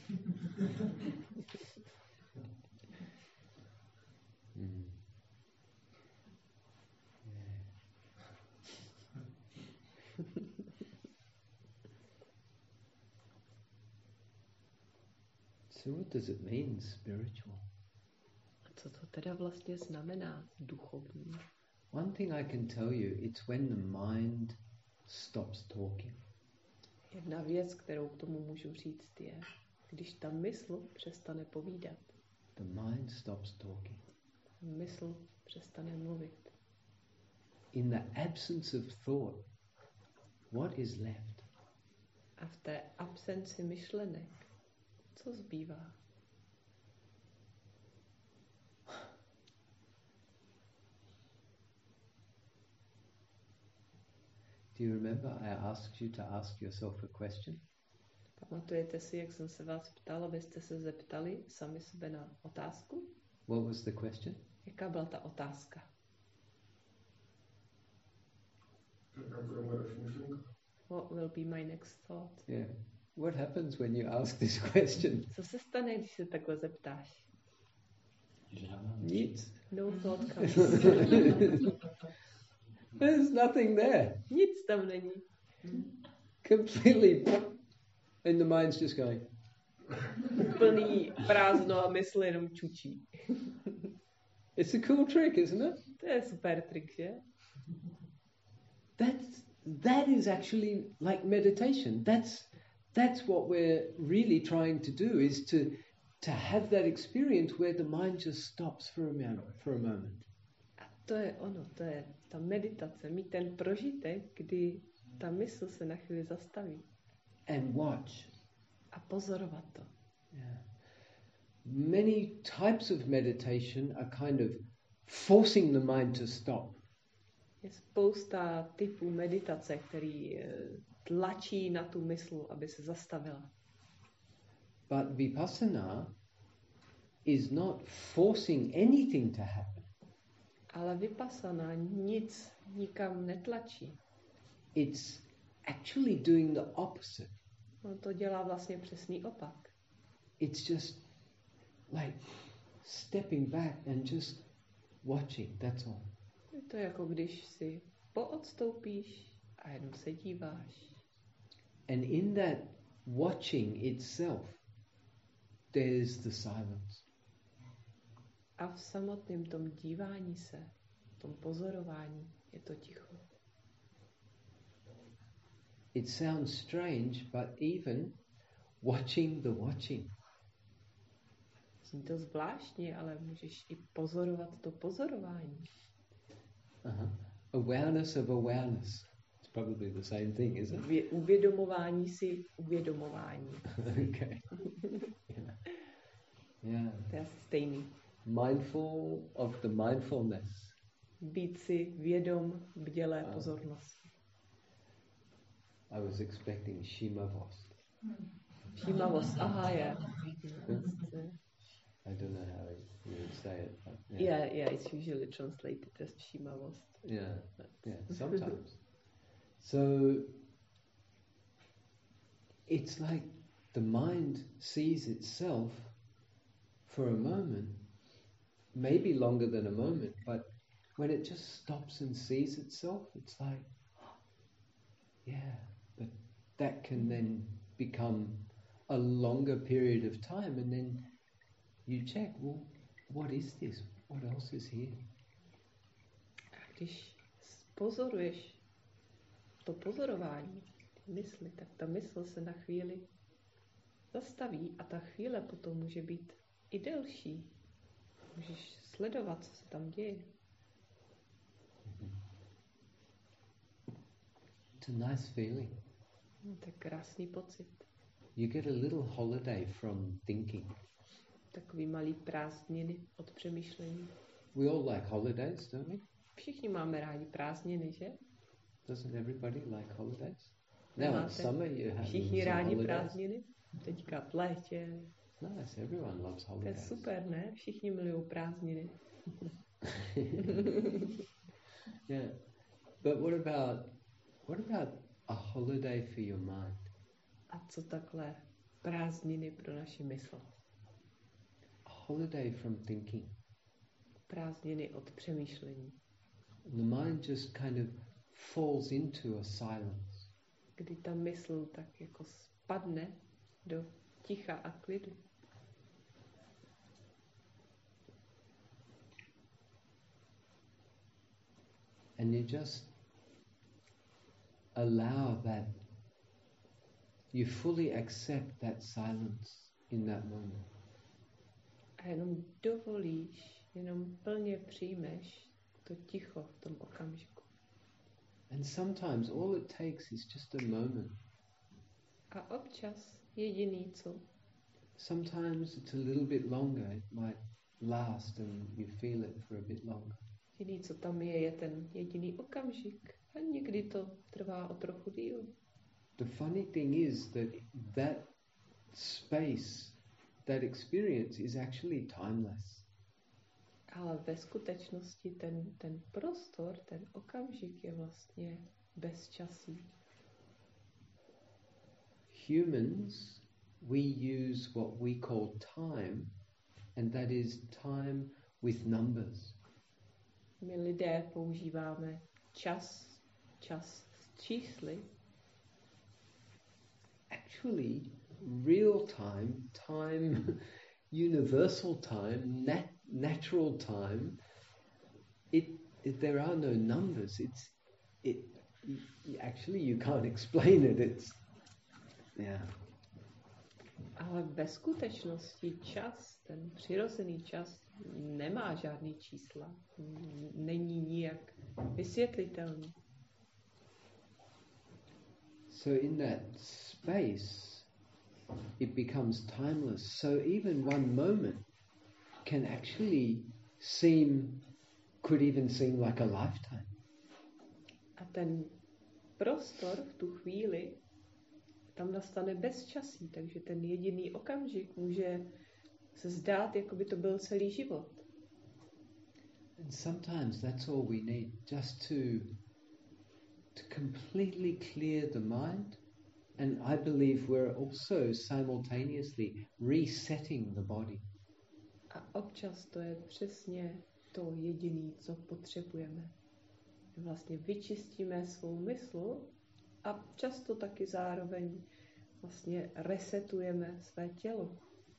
So what does it mean, spiritual? Co to teda vlastně znamená duchovní? One thing I can tell you, it's when the mind stops talking. Jedna věc, kterou k tomu můžu říct, je, když ta mysl přestane povídat. The mind stops talking. Mysl přestane mluvit. In the absence of thought, what is left? A v té absenci myšlenek, co zbývá? Do you remember I asked you to ask yourself a question? Pamatujete si, jak jsem se vás ptal, abyste se zeptali sami sebe na otázku? What was the question? Jaká byla ta otázka? What will be my next thought? Yeah. What happens when you ask this question? Co se stane, když se takhle zeptáš? Nic. No thought comes. There's nothing there. Nic tam není. Completely. And the mind's just going. Úplný prázdno a mysl jenom čučí. It's a cool trick, isn't it? To je super trik, že? That is actually like meditation. That's what we're really trying to do, is to have that experience where the mind just stops for a moment. A to je ono, to je ta meditace, mít ten prožitek, kdy ta mysl se na chvíli zastaví. And watch. A pozorovat to. Yeah. Many types of meditation are kind of forcing the mind to stop. Je spousta typů meditace, který tlačí na tu mysl, aby se zastavila. But vipassana is not forcing anything to happen. Ale vipassana nic nikam netlačí. It's actually doing the opposite. On to dělá vlastně přesný opak. It's just like stepping back and just watching, that's all. Je to jako když si poodstoupíš a jenom se díváš. And in that watching itself, there's the silence. A v samotném tom dívání se, v tom pozorování je to ticho. It sounds strange, but even watching the watching. Zní to zvláštně, ale můžeš i pozorovat to pozorování. Awareness of awareness. It's probably the same thing, isn't it? Uvědomování si uvědomování. Okay. Yeah. To je stejný. Mindful of the mindfulness. Být si vědom bdělé pozornosti. I was expecting Shimavost. Shimavost, aha, yeah. I don't know how you would say it. But yeah, it's usually translated as Shimavost. Yeah, sometimes. So it's like the mind sees itself for a moment, maybe longer than a moment, but when it just stops and sees itself, it's like, but that can then become a longer period of time, and then you check, well, what is this? What else is here? Když pozoruješ to pozorování mysli, tak ta mysl se na chvíli zastaví a ta chvíle potom může být i delší. Můžeš sledovat, co se tam děje. It's a nice feeling. To je krásný pocit. You get a little holiday from thinking. Takový malý prázdniny od přemýšlení. We all like holidays, don't we? Všichni máme rádi prázdniny, že? Doesn't everybody like holidays? Now in summer you have všichni rádi prázdniny. Teďka v létě. Nice, everyone loves holidays. To je super, ne? Všichni milují prázdniny. Yeah. But what about a holiday for your mind? A co takhle prázdniny pro naši mysl? A holiday from thinking. Prázdniny od přemýšlení. The mind just kind of falls into a silence. Kdy ta mysl tak jako spadne do ticha a klidu. And you just allow that, you fully accept that silence in that moment. A jenom dovolíš, jenom plně přijmeš to ticho v tom okamžiku. And sometimes all it takes is just a moment. A občas jediný co. Sometimes it's a little bit longer. It might last and you feel it for a bit longer. Jediný co tam je ten jediný okamžik. A někdy to trvá o trochu díl. The funny thing is that space, that experience is actually timeless. Ale ve skutečnosti ten prostor, ten okamžik je vlastně bezčasý. Humans, we use what we call time, and that is time with numbers. My lidé používáme čas s čísly. Actually, real time, universal time, natural time, there are no numbers. Actually you can't explain it. Ale ve skutečnosti čas, ten přirozený čas, nemá žádný čísla. Není nijak vysvětlitelný. So in that space, it becomes timeless. So even one moment can actually could even seem like a lifetime. A ten prostor v tu chvíli, tam nastane bezčasí, takže ten jediný okamžik může se zdát, jako by to byl celý život. And sometimes that's all we need, just to completely clear the mind. And I believe we're also simultaneously resetting the body. A občas to je přesně to jediné, co potřebujeme. Vlastně vyčistíme svou mysl a často taky zároveň vlastně resetujeme své tělo.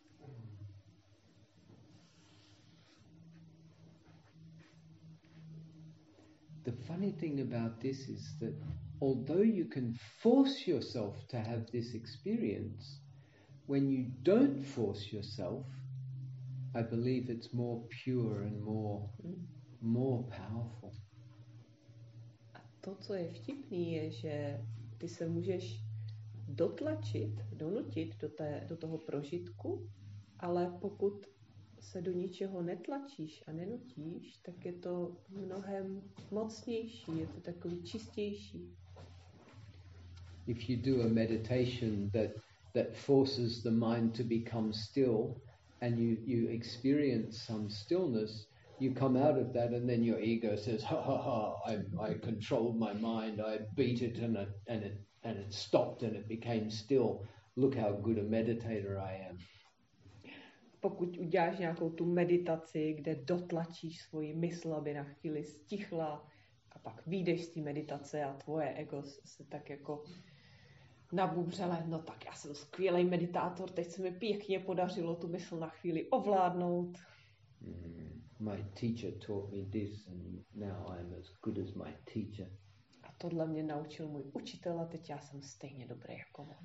The funny thing about this is that although you can force yourself to have this experience, when you don't force yourself, I believe it's more pure and more powerful. A to, co je vtipný, je, že ty se můžeš donutit do toho prožitku, ale pokud se do ničeho netlačíš a nenutíš, tak je to mnohem mocnější, je to takový čistější. if you do a meditation that forces the mind to become still, and you experience some stillness, you come out of that, and then your ego says, "Ha ha ha! I controlled my mind. I beat it, and it stopped, and it became still. Look how good a meditator I am." Pokud uděláš nějakou tu meditaci, kde dotlačíš svoji mysl, aby na chvíli stichla, a pak vyjdeš z té meditace a tvoje ego se tak jako nabubřele, no tak já jsem skvělý meditátor, teď se mi pěkně podařilo tu mysl na chvíli ovládnout. My teacher taught me this and now I'm as good as my teacher. A tohle mě naučil můj učitel a teď já jsem stejně dobrý jako on.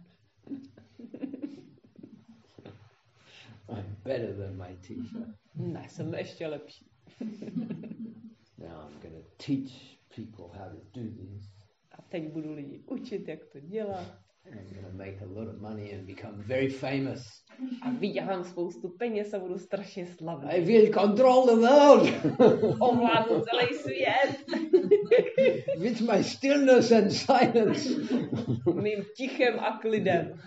I'm better than my teacher. Ne, jsem ještě lepší. Now I'm going to teach people how to do this. A teď budu lidi učit, jak to dělat. And I'm going to make a lot of money and become very famous. A vydělám spoustu peněz a budu strašně slavný. I will control the world. Ovládnu celý svět. With my stillness and silence. Mým tichem a klidem.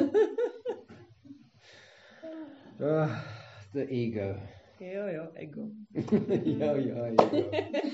The ego. Jo, ego. Ego.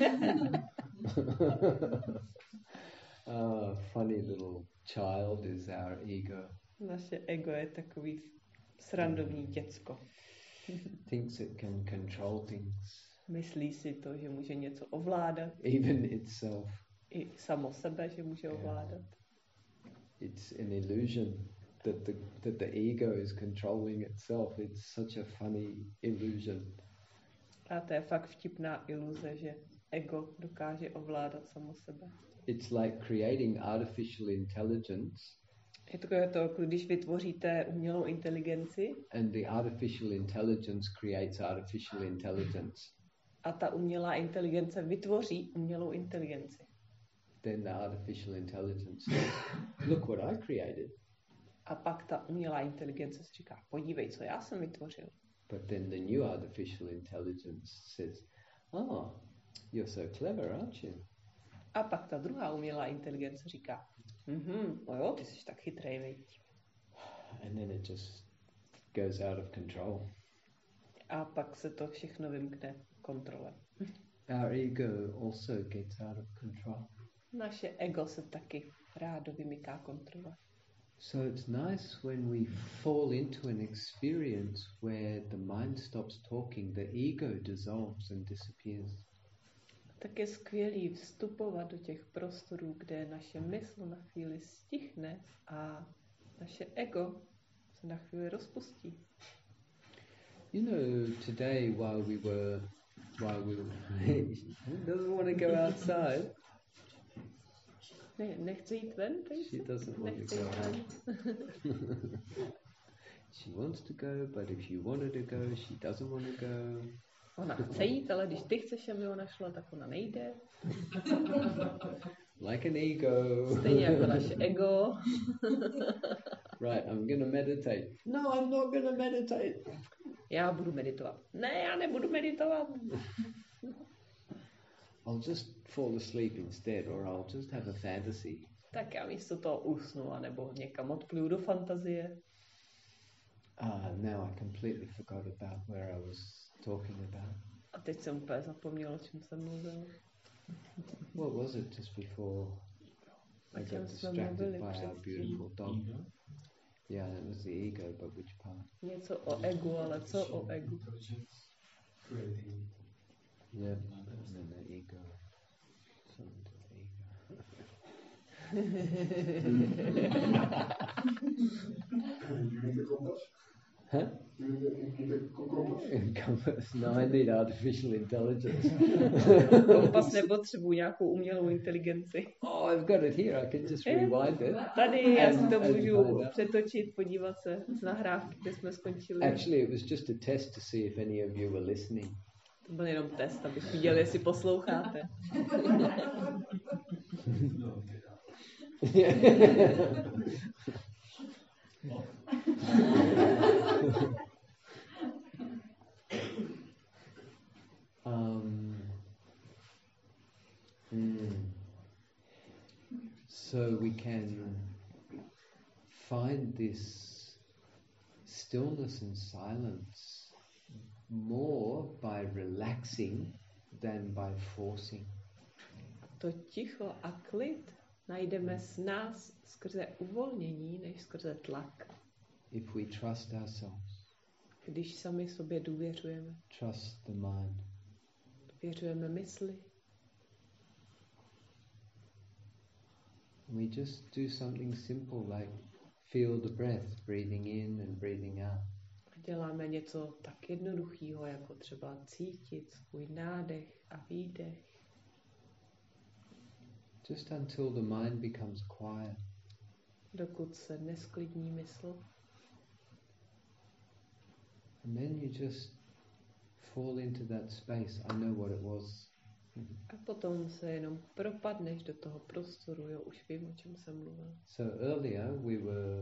Funny little child is our ego. Naše ego je takový srandovní děcko. Thinks it can control things. Myslí si to, že může něco ovládat. Even itself. I samo sebe, že může ovládat. It's an illusion that the ego is controlling itself. It's such a funny illusion. A to je fakt vtipná iluze, že ego dokáže ovládat samo sebe. It's like creating artificial intelligence. Je to jako když vytvoříte umělou inteligenci. And the artificial intelligence creates artificial intelligence. A ta umělá inteligence vytvoří umělou inteligenci. Then the artificial intelligence says, "Look what I created." A pak ta umělá inteligence si říká, podívej, co já jsem vytvořil. But then the new artificial intelligence says, "Oh, you're so clever, aren't you?" A pak ta druhá umělá inteligence říká, no jo, ty jsi tak chytrej, viď. And then it just goes out of control. A pak se to všechno vymkne kontrole. Our ego also gets out of control. Naše ego se taky rádo vymyká kontrole. So it's nice when we fall into an experience where the mind stops talking, the ego dissolves and disappears. Tak je skvělý vstupovat do těch prostorů, kde naše mysl na chvíli stichne a naše ego se na chvíli rozpustí. You know, today while we were doesn't want to go outside. Nechce jít ven, She doesn't want to go out. She wants to go, but if you wanted to go, she doesn't want to go. Ona chce jít, ale když ty chceš, aby ona šla, tak ona nejde. Like an ego. Stejně jako naše ego. Right, I'm going to meditate. No, I'm not going to meditate. Já budu meditovat. Ne, já nebudu meditovat. I'll just fall asleep instead, or I'll just have a fantasy. Tak já místo toho usnu, anebo někam odpluju do fantazie. Now I completely forgot about where I was talking about. A teď jsem úplně zapomněl, o čem jsem mluvil. What was it just before I got distracted by our beautiful dog? Yeah, it was the ego, but which part? Něco o egu, ale co o egu? Yeah, and then the ego. Something to the ego. Huh? Compass? No, I need artificial intelligence. Kompas nepotřebuji nějakou umělou inteligenci. Oh, I've got it here. I can just rewind it. Tady já si to můžu přetočit, podívat se z nahrávky, kde jsme skončili. Actually, it was just a test to see if any of you were listening. To byl jenom test, abych viděl, jestli posloucháte. So we can find this stillness and silence more by relaxing than by forcing. To ticho a klid najdeme s nás skrze uvolnění, než skrze tlak. If we trust ourselves. Když sami sobě důvěřujeme. Trust the mind. Důvěřujeme mysli. We just do something simple like feel the breath, breathing in and breathing out. Děláme něco tak jednoduchého, jako třeba cítit svůj nádech a výdech. Just until the mind becomes quiet. Dokud se nesklidní mysl. And then you just fall into that space. I know what it was. A potom se jenom propadneš do toho prostoru, jo, už vím, o čem jsem mluvil. So earlier we were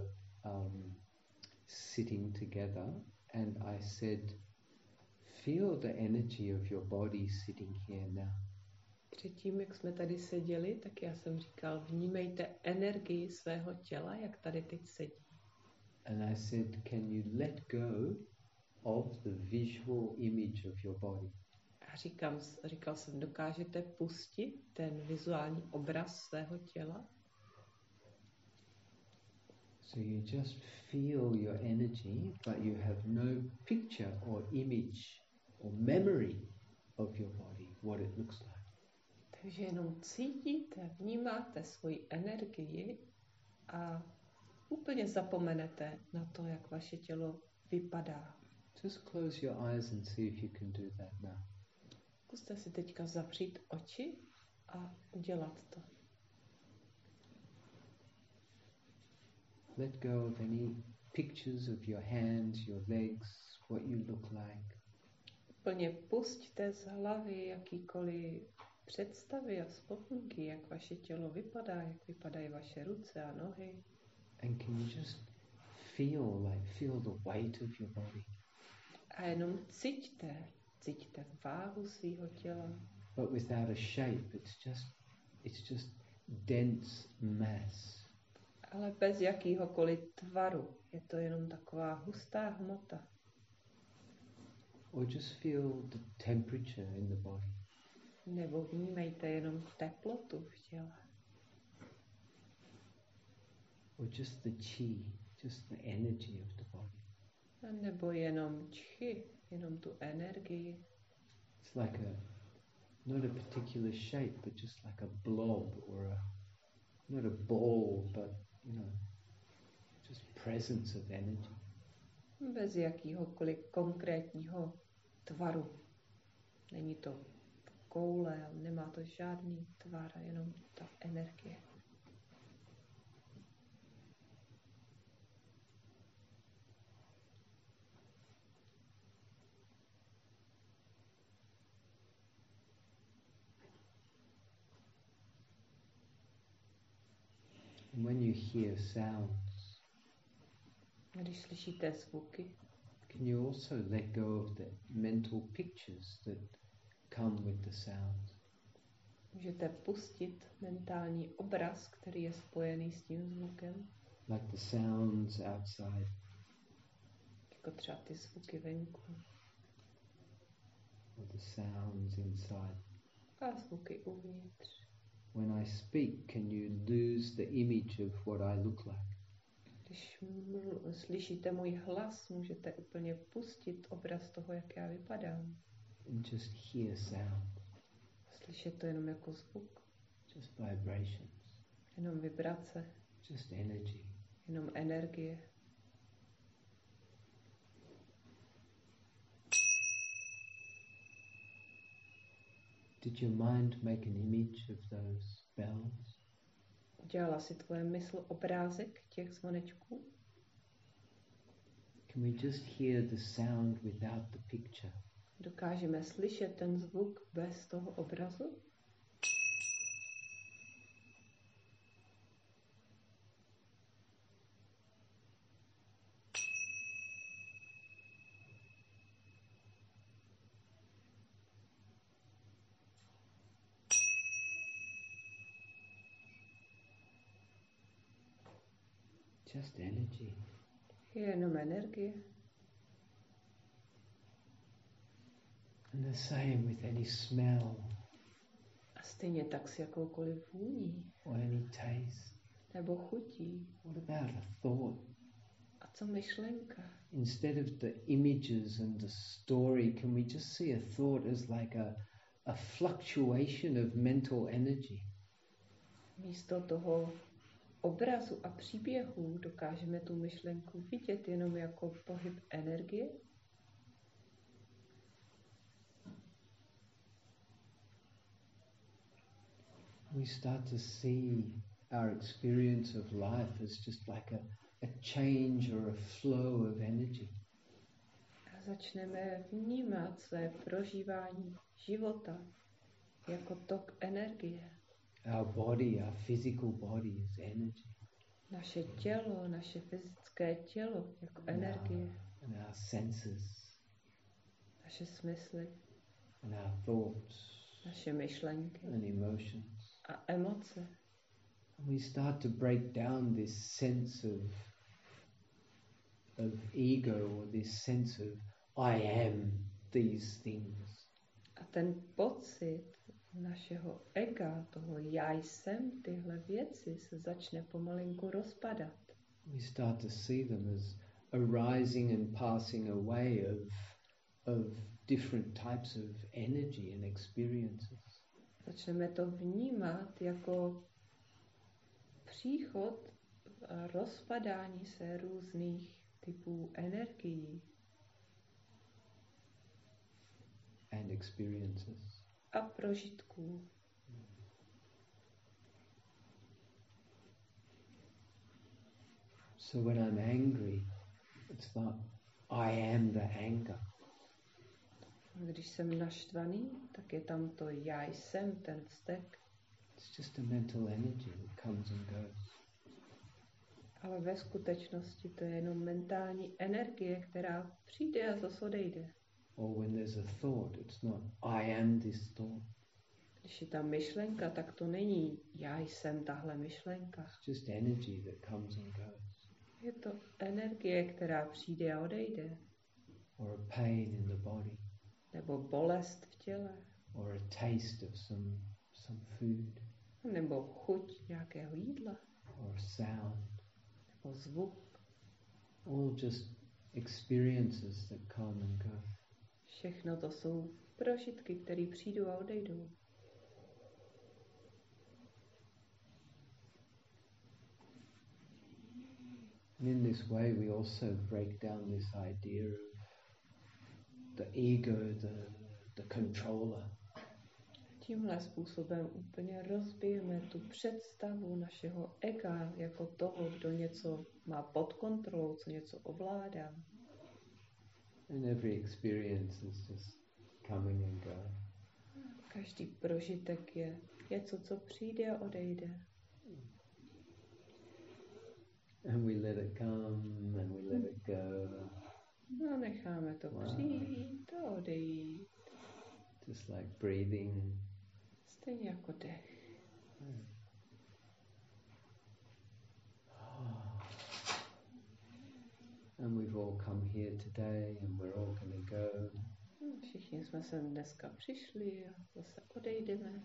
sitting together and I said, feel the energy of your body sitting here now. Předtím, jak jsme tady seděli, tak já jsem říkal, vnímejte energii svého těla, jak tady teď sedí. And I said, can you let go of the visual image of your body? A říkal jsem, dokážete pustit ten vizuální obraz svého těla? So you just feel your energy, but you have no picture or image or memory of your body, what it looks like. Takže jenom cítíte, vnímáte svoji energii a úplně zapomenete na to, jak vaše tělo vypadá. Just close your eyes and see if you can do that now. Zkuste si teďka zavřít oči a udělat to. Let go of any pictures of your hands, your legs, what you look like. Úplně pusťte z hlavy jakýkoliv představy a vzpomínky, jak vaše tělo vypadá, jak vypadají vaše ruce a nohy. And can you just feel the weight of your body? A jenom cíťte váhu svého těla. But without a shape, it's just dense mass. Ale bez jakýhokoliv tvaru. Je to jenom taková hustá hmota. Or just feel the temperature in the body. Nebo vnímejte jenom teplotu v těle. Or just the chi, just the energy of the body. A nebo jenom čchy, jenom tu energii. It's like not a particular shape, but just like a blob or not a ball, but just presence of energy. Bez jakýhokoliv konkrétního tvaru. Není to koule, nemá to žádný tvar, jenom ta energie. And when you hear sounds, když slyšíte zvuky, can you also let go of the mental pictures that come with the sound? Můžete pustit mentální obraz, který je spojený s tím zvukem. Like the sounds outside. Jako třeba ty zvuky venku. Or the sounds inside. A zvuky uvnitř. When I speak, can you lose the image of what I look like? Když slyšíte můj hlas, můžete úplně pustit obraz toho, jak já vypadám. And just hear sound. Slyšet to jenom jako zvuk. Just vibrations. Jenom vibrace. Just energy. Jenom energie. Did your mind make an image of those bells? Udělala si tvoje mysl obrázek těch zvonečků? Can we just hear the sound without the picture? Dokážeme slyšet ten zvuk bez toho obrazu? Just energy. Je jenom energie. And the same with any smell. A stejně tak s jakoukoliv vůní. Or any taste. Nebo chutí. What about a thought? A co myšlenka? Instead of the images and the story, can we just see a thought as like a fluctuation of mental energy? Místo toho obrazu a příběhů dokážeme tu myšlenku vidět jenom jako pohyb energie? We start to see our experience of life as just like a change or a flow of energy. A začneme vnímat své prožívání života jako tok energie. Our body, our physical body is energy. Naše tělo, naše fyzické tělo jako energie. And our senses. Naše smysly. And our thoughts. Naše myšlenky. And emotions. A emoce. And we start to break down this sense of ego or this sense of I am these things. A ten pocit našeho ega, toho já jsem tyhle věci, se začne pomalinku rozpadat. We start to see them as arising and passing away of different types of energy and experiences. Začneme to vnímat jako příchod a rozpadání se různých typů energií. And experiences. A prožitků. So when I'm angry, it's not I am the anger. Když jsem naštvaný, tak je tam to já jsem, ten vztek. It's just a mental energy that comes and goes. Ale ve skutečnosti to je jenom mentální energie, která přijde a zase odejde. Or when there's a thought, it's not I am this thought. Když je ta myšlenka, tak to není já jsem tahle myšlenka. It's just energy that comes and goes. Je to energie, která přijde a odejde. Or a pain in the body. Nebo bolest v těle. Or a taste of some food. Nebo chuť nějakého jídla. Or sound. Nebo zvuk. All just experiences that come and go. Všechno to jsou prožitky, které přijdou a odejdou. And in this way we also break down this idea of the ego, the controller. Tímhle způsobem úplně rozbijeme tu představu našeho ega jako toho, kdo něco má pod kontrolou, co něco ovládá. And every experience is just coming and going. Každý prožitek je něco, co přijde a odejde. And we let it come and we let it go. No, necháme to přijít a odejít. Just like breathing. Stejně jako dech. And we've all come here today and we're all going to go. Všichni jsme sem dneska přišli a zase odejdeme.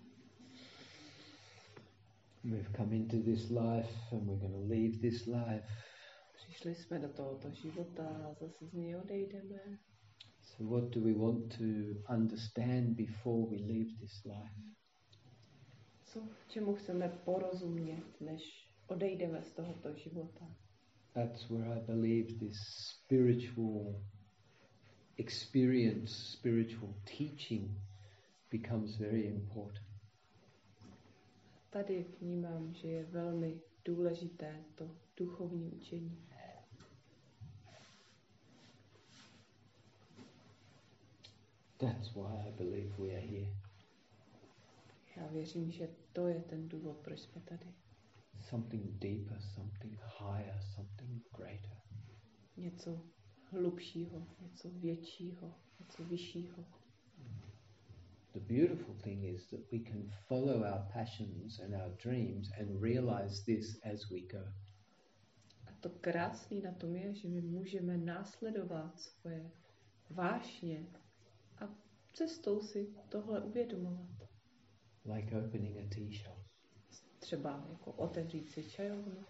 We've come into this life and we're going to leave this life. Přišli jsme do tohoto života a zase z něj odejdeme. So what do we want to understand before we leave this life? Co, čemu chceme porozumět, než odejdeme z tohoto života? That's where I believe this spiritual experience, spiritual teaching becomes very important. Tady vnímám, že je velmi důležité to duchovní učení. That's why I believe we are here. Já věřím, že to je ten důvod, proč jsme tady. Something deeper, something higher, something greater. Něco hlubšího, něco většího, něco vyššího. The beautiful thing is that we can follow our passions and our dreams and realize this as we go. A to krásné na tom je, že my můžeme následovat svoje vášně a cestou si tohle uvědomovat. Like opening a tea shop. Třeba jako otevřít si čajovnu.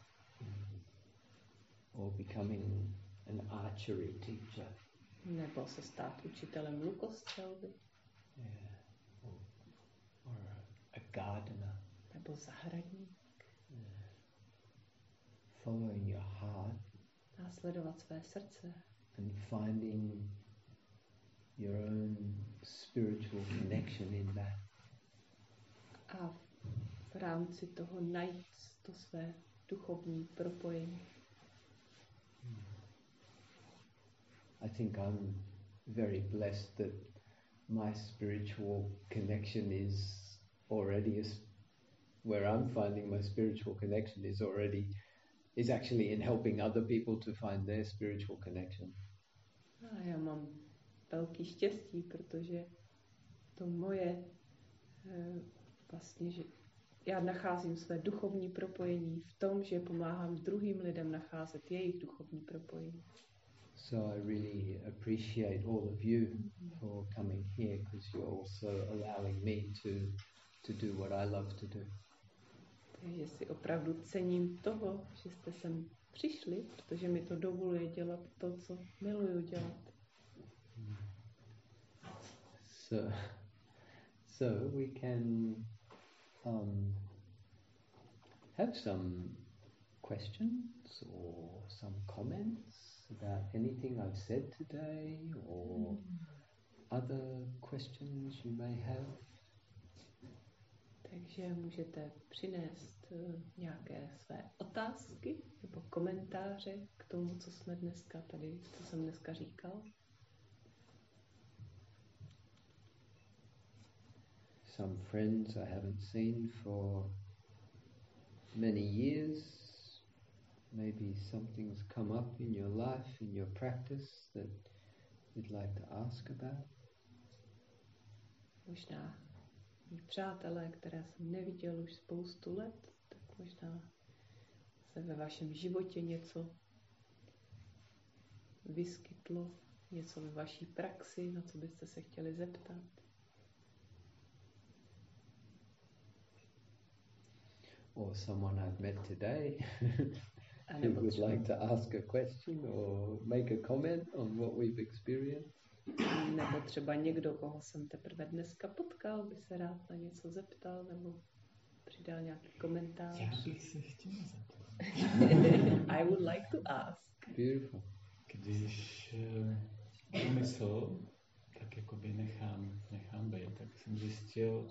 Or becoming an archery teacher. Nebo se stát učitelem lukostřelby. Yeah. Or a gardener. Nebo zahradník. Yeah. Following your heart. Následovat své srdce. And finding your own spiritual connection in that. A v rámci toho najít to své duchovní propojení. I think I'm very blessed that my spiritual connection is already where I'm finding my spiritual connection is actually in helping other people to find their spiritual connection. A já mám velký štěstí, protože to moje vlastně, že já nacházím své duchovní propojení v tom, že pomáhám druhým lidem nacházet jejich duchovní propojení. So I really appreciate all of you for coming here because you're also allowing me to do what I love to do. Takže si opravdu cením toho, že jste sem přišli, protože mi to dovoluje dělat to, co miluju dělat. So we can have some questions or some comments about anything I've said today or other questions you may have. Takže můžete přinést nějaké své otázky nebo komentáře k tomu, co jsme dneska tady, co jsem dneska říkal. Some friends I haven't seen for many years. Maybe something's come up in your life, in your practice that you'd like to ask about. Možná mý přátelé, které jsem neviděl už spoustu let, tak možná se ve vašem životě něco vyskytlo, něco ve vaší praxi, na co byste se chtěli zeptat. Or someone I've met today who would like to ask a question or make a comment on what we've experienced. Nebo třeba někdo, koho jsem teprve dneska potkal, by se rád na něco zeptal nebo přidal nějaký komentář. Já bych se chtěl zeptat. I would like to ask. Beautiful. Když mysl tak jakoby nechám být, tak jsem zjistil,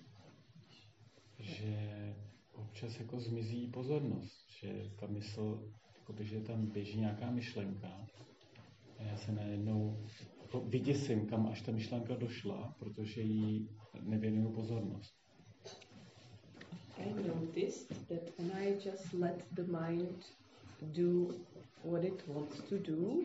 že občas jako zmizí pozornost, že ta mysl, jakoby, že tam běží nějaká myšlenka a já se najednou jako vyděsím, kam až ta myšlenka došla, protože jí nevěnuju pozornost. I noticed that when I just let the mind do what it wants to do,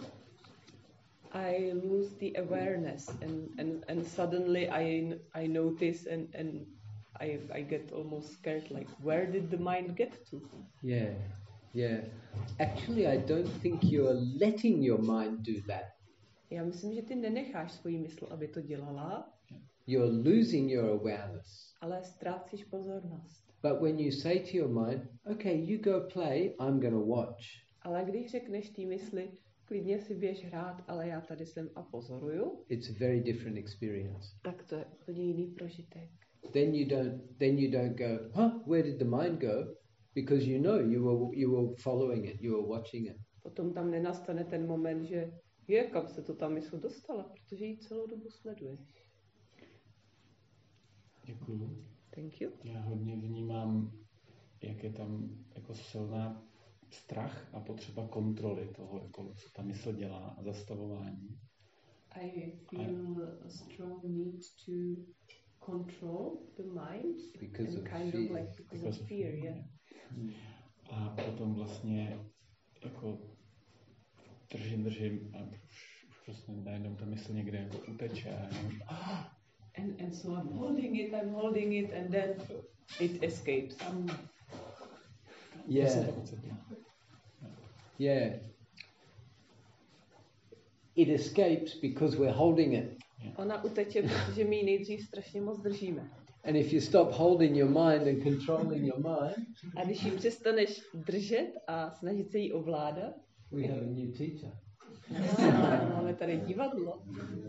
I lose the awareness and suddenly I notice and I get almost scared, like, where did the mind get to? Yeah. Actually, I don't think you're letting your mind do that. Já myslím, že ty nenecháš svoji mysl, aby to dělala. You're losing your awareness. Ale ztrácíš pozornost. But when you say to your mind, okay, you go play, I'm going to watch. Ale když řekneš té mysli, klidně si běž hrát, ale já tady jsem a pozoruju. It's a very different experience. Tak to je úplně jiný prožitek. Then you don't go, where did the mind go? Because you know you were following it, you were watching it. Potom tam nenastane ten moment, že kam se to ta mysl dostala, protože ji celou dobu sleduješ. Děkuju. Thank you. Já hodně vnímám, jak je tam jako silná strach a potřeba kontroly toho, jako, co ta mysl dělá a zastavování. I feel a strong need to control the mind because and of kind fear. of like because of fear, yeah. A potom vlastně jako držím a už prostě najednou ta mysl někde jako uteče. And so I'm holding it and then it escapes. Yeah. Yeah. It escapes because we're holding it. Ona uteče, protože my ji nejdřív strašně moc držíme. And if you stop holding your mind and controlling your mind, a když ji přestaneš držet a snažit se jí ovládat, we have a new teacher. Máme tady divadlo.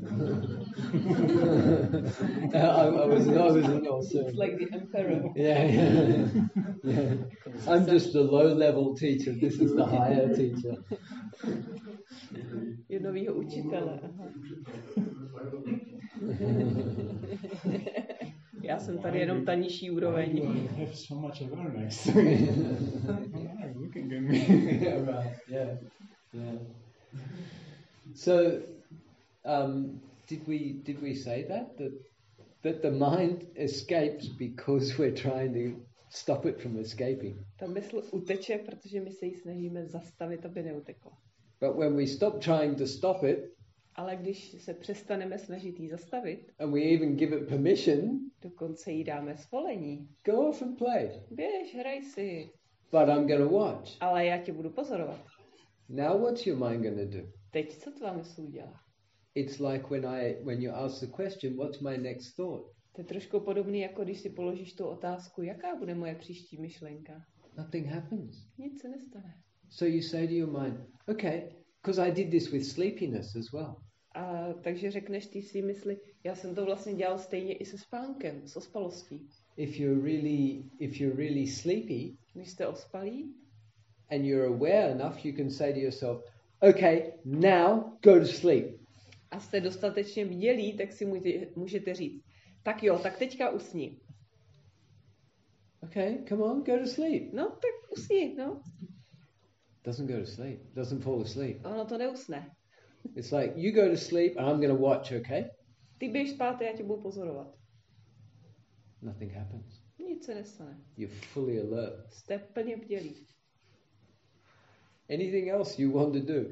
I was an also. It's like the emperor. Yeah. I'm just the low-level teacher. This is the higher teacher. Je novýho učitele. Aha. Já jsem tady jenom ta nižší úroveň. I have so much awareness. Looking at me. Yeah, right. Yeah. So, did we say that the mind escapes because we're trying to stop it from escaping? Ta mysl uteče, protože my se jí snažíme zastavit, aby neutekla. But when we stop trying to stop it, ale když se přestaneme snažit jí zastavit, and we even give it permission, dokonce jí dáme svolení. Go off and play. Běž, hraj si. But I'm going to watch. Ale já tě budu pozorovat. Now what's your mind going to do? Teď co tvá mysl udělá? It's like when you ask the question, what's my next thought? To je trošku podobný, jako když si položíš tu otázku, jaká bude moje příští myšlenka. Nothing happens. Nic se nestane. So you say to your mind, okay, because I did this with sleepiness as well. A takže řekneš ty si mysli, já jsem to vlastně dělal stejně i se spánkem, s ospalostí. If you're really sleepy, když jste ospalí, and you're aware enough, you can say to yourself, okay, now go to sleep. A jste dostatečně bdělí, tak si můžete říct, tak jo, tak teďka usni. Okay, come on, go to sleep. No, tak usni, no. Doesn't go to sleep, doesn't fall asleep. Ono to neusne. It's like, you go to sleep and I'm going to watch, okay? Ty běž spát a já tě budu pozorovat. Nothing happens. Nic se nestane. You're fully alert. Jste plně bdělí. Anything else you want to do?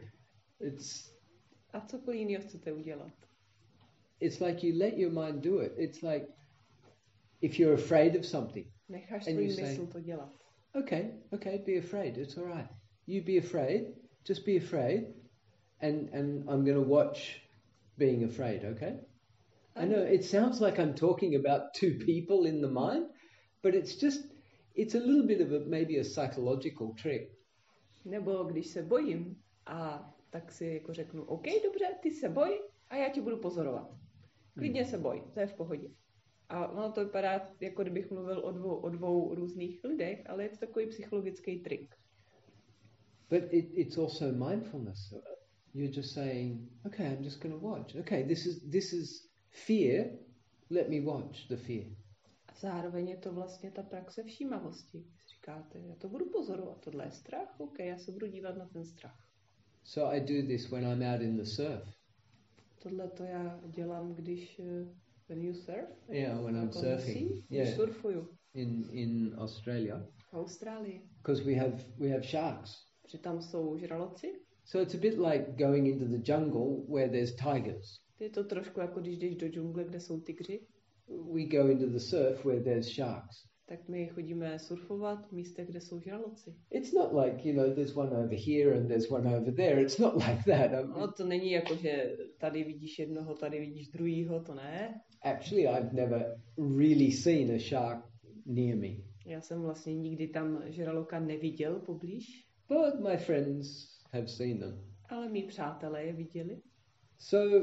A cokoliv jiného chcete udělat? It's like you let your mind do it. It's like if you're afraid of something. Necháš svůj mysl to dělat. Okay, be afraid. It's all right. You be afraid. Just be afraid. And I'm going to watch being afraid, okay? I know it sounds like I'm talking about two people in the mind, but it's a little bit of maybe a psychological trick. Nebo když se bojím, a tak si jako řeknu, OK, dobře, ty se boj a já tě budu pozorovat. Klidně se boj, to je v pohodě. A ono to vypadá, jako kdybych mluvil o dvou různých lidech, ale je to takový psychologický trik. But it's also mindfulness. You're just saying, okay, I'm just going to watch. Okay, this is fear. Let me watch the fear. A zároveň je to vlastně ta praxe všímavosti. Říkáte, já to budu pozorovat. Tohle je strach? OK, já se budu dívat na ten strach. So I do this when I'm out in the surf. Tohle to já dělám, když when you surf? Yeah, when I'm surfing. Yeah. Surfuju. In Australia. V Austrálii. Because we have sharks. Protože tam jsou žraloci. So it's a bit like going into the jungle where there's tigers. Je to trošku jako když jdeš do džungle, kde jsou tygři. We go into the surf where there's sharks. Tak my chodíme surfovat v místech, kde jsou žraloci. It's not like, there's one over here and there's one over there. It's not like that. No, to není jako, že tady vidíš jednoho, tady vidíš druhýho, to ne. Actually, I've never really seen a shark near me. Já jsem vlastně nikdy tam žraloka neviděl poblíž. But my friends have seen them. Ale mý přátelé je viděli. So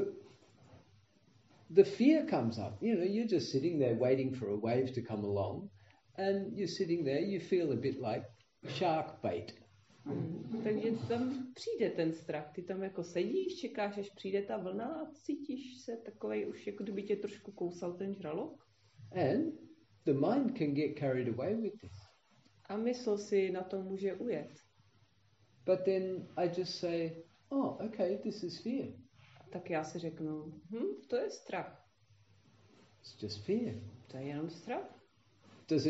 the fear comes up. You're just sitting there waiting for a wave to come along, and you're sitting there, you feel a bit like shark bait. Takže tam přijde ten strach. Ty tam jako sedíš, čekáš, až přijde ta vlna a cítíš se takovej už, jako kdyby tě trošku kousal ten žralok. And the mind can get carried away with this. A mysl si na to může ujet. But then I just say, oh, okay, this is fear. Tak já si řeknu, to je strach. It's just fear. To je jenom strach. Does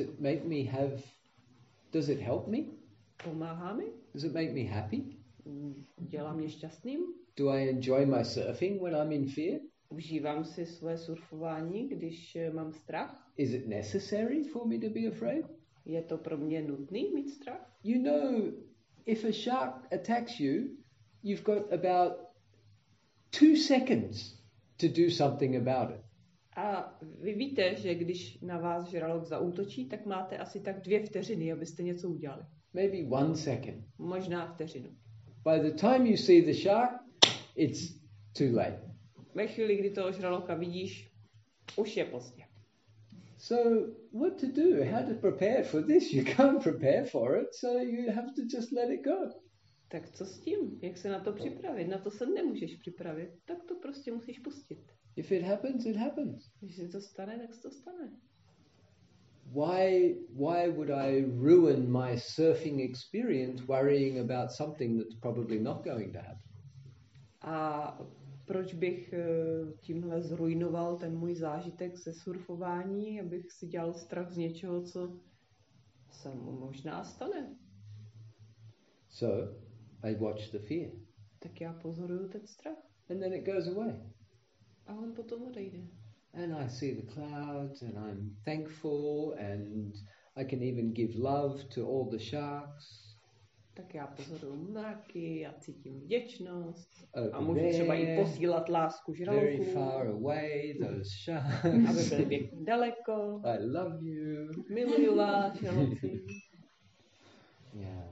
it help me? Pomáhá mi? Does it make me happy? Dělá mě šťastným? Do I enjoy my surfing when I'm in fear? Užívám si své surfování, když mám strach? Is it necessary for me to be afraid? Je to pro mě nutný mít strach? if a shark attacks you, you've got about 2 seconds to do something about it. A vy víte, že když na vás žralok zaútočí, tak máte asi tak 2 vteřiny, abyste něco udělali. Maybe 1 second. Možná vteřinu. By the time you see the shark, it's too late. Ve chvíli, kdy toho žraloka vidíš, už je pozdě. So what to do? How to prepare for this? You can't prepare for it, so you have to just let it go. Tak co s tím? Jak se na to připravit? Na to se nemůžeš připravit. Tak to prostě musíš pustit. If it happens, it happens. Když se to stane, tak se to stane. Why would I ruin my surfing experience worrying about something that's probably not going to happen? A proč bych tímhle zrujnoval ten můj zážitek ze surfování, abych si dělal strach z něčeho, co se možná stane? So I watch the fear. Tak já pozoruju ten strach. And then it goes away. A on potom odejde. And I see the clouds and I'm thankful and I can even give love to all the sharks. Tak já pozoruju mraky a cítím vděčnost. A můžu třeba i posílat lásku žralokům. Very far away, those sharks. Aby byli pěkně daleko. I love you. Miluju vás, žraloci. Yeah.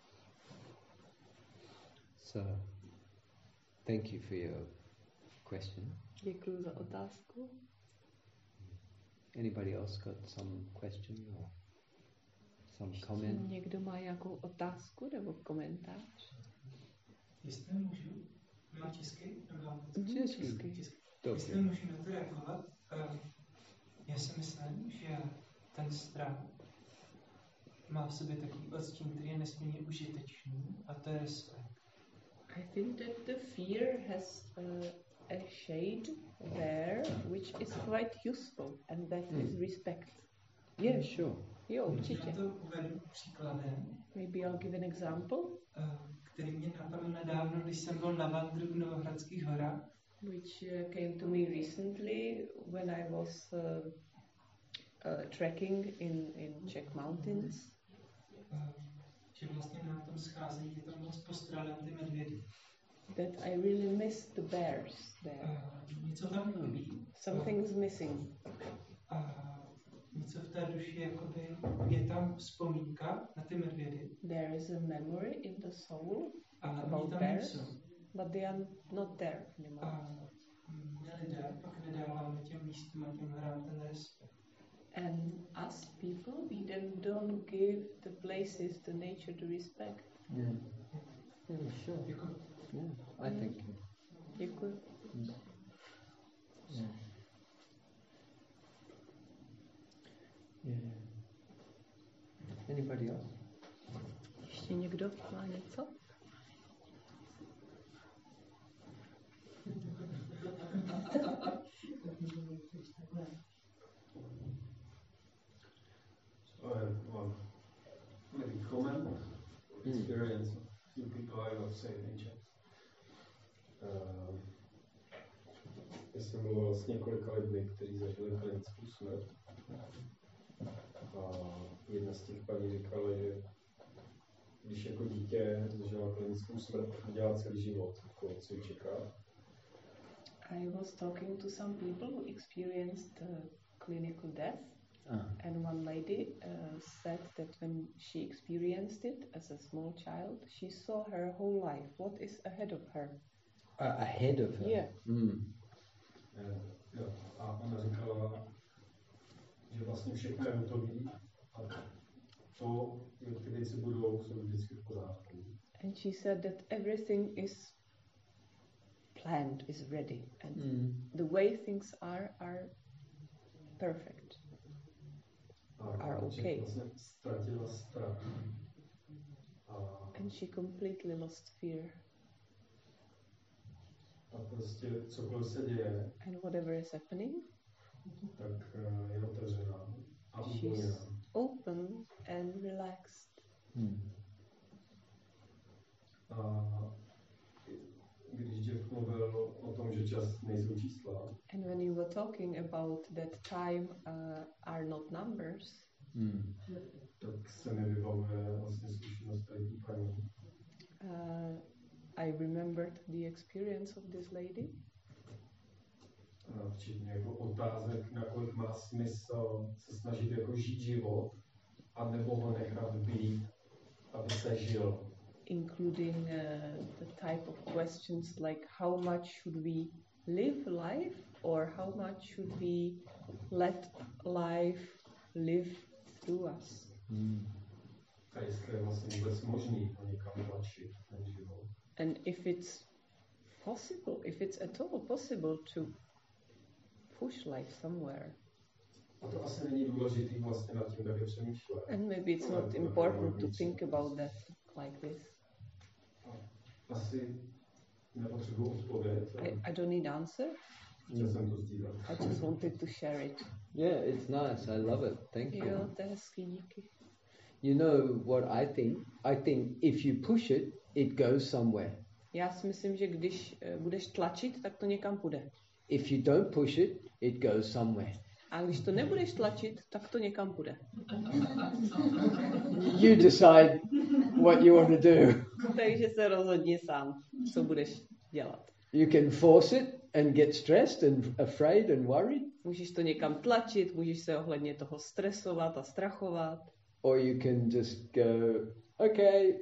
So, thank you for your question. Děkuji za otázku. Anybody else got some question or some comment? Někdo má nějakou otázku nebo komentář? Jestli můžu, má česky? Česky. Jestli můžu na to reagovat, já si myslím, že ten strach má v sobě takový odstín, který je nesmírně užitečný, a to je respekt. I think that the fear has a shade there which is quite useful, and that is respect. Yeah, sure. Jo, určitě. Já to uvedu příkladem. Maybe I'll give an example. Který mě napadl nedávno, když jsem byl na vandru v Novohradských horách. Which came to me recently when I was trekking in Czech mountains. Že vlastně na tom scházení je tam moc postrádám ty medvědy. That I really missed the bears there. Něco tam chybí. Something's missing. Něco v té duši, jakoby je tam vzpomínka na ty medvědy. There is a memory in the soul about bears, but they are not there anymore. My lidé pak nedáváme těm místům a těm hrám ten respekt. And us people, we then don't give the places, the nature, the respect. Yeah. Yeah, sure. Yeah, I think. Děkuji. Yeah. Yeah. Anybody else? Ještě někdo má něco? Maybe comment experience of few people I love saying in Czech. Já jsem mluvil s několika lidmi, kteří zažili klinickou smrt. A jedna z těch paní říkala, že když jako dítě zažila klinickou smrt, tak dělá celý život, jako co ji čeká. I was talking to some people who experienced clinical death, and one lady said that when she experienced it as a small child, she saw her whole life. What is ahead of her? Ahead of her? Yeah. Jo. A ona říkala, že vlastně všechno je hotový a to, jak ty věci budou, jsou vždycky v pořádku. And she said that everything is planned, is ready, and the way things are perfect, are okay. Vlastně ztratila strach. And she completely lost fear. A prostě cokoliv se děje, and whatever is happening, tak je otevřená a she's uvolněná. open and relaxed. A když Jeff mluvil o tom, že čas nejsou čísla, and when you were talking about that time are not numbers, tak se mi vybavuje vlastně zkušenost tady paní. I remembered the experience of this lady. Včetně jako otázek, nakolik má smysl se snažit jako žít život, anebo ho nechat být, aby se žil. Including the type of questions like how much should we live life or how much should we let life live through us. A jestli je vlastně vůbec možný ho někam tlačit, ten život. And if it's possible, if it's at all possible to push life somewhere. A to asi není důležitý vlastně nad tím taky přemýšlet. And maybe it's not important to think about that like this. Asi nepotřebuji odpověď. I don't need answer. Chtěl jsem to sdílet. I just wanted to share it. Yeah, it's nice. I love it. Thank you. Jo, to je hezký, díky. You know what I think? I think if you push it, it goes somewhere. Já si myslím, že když budeš tlačit, tak to někam půjde. If you don't push it, it goes somewhere. A když to nebudeš tlačit, tak to někam půjde. You decide what you want to do. Takže se rozhodni sám, co budeš dělat. You can force it and get stressed and afraid and worried. Můžeš to někam tlačit, můžeš se ohledně toho stresovat a strachovat. Or you can just go, okay,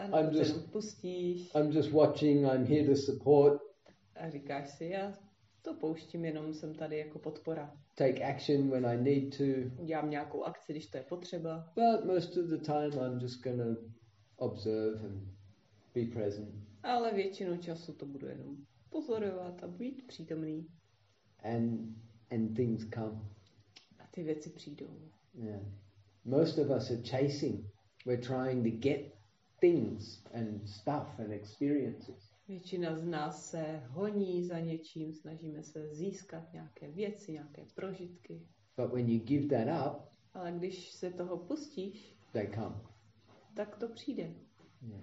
I'm just watching, I'm here to support. A říkáš si, já to pouštím, jenom jsem tady jako podpora. Take action when I need to. Dělám nějakou akci, když to je potřeba. But most of the time I'm just going to observe and be present. Ale většinu času to budu jenom pozorovat a být přítomný. And things come. A ty věci přijdou. Yeah. Most of us are chasing. We're trying to get things and stuff and experiences. Většina z nás se honí za něčím, snažíme se získat nějaké věci, nějaké prožitky. But when you give that up, ale když se toho pustíš, they come. Tak to přijde. Yeah.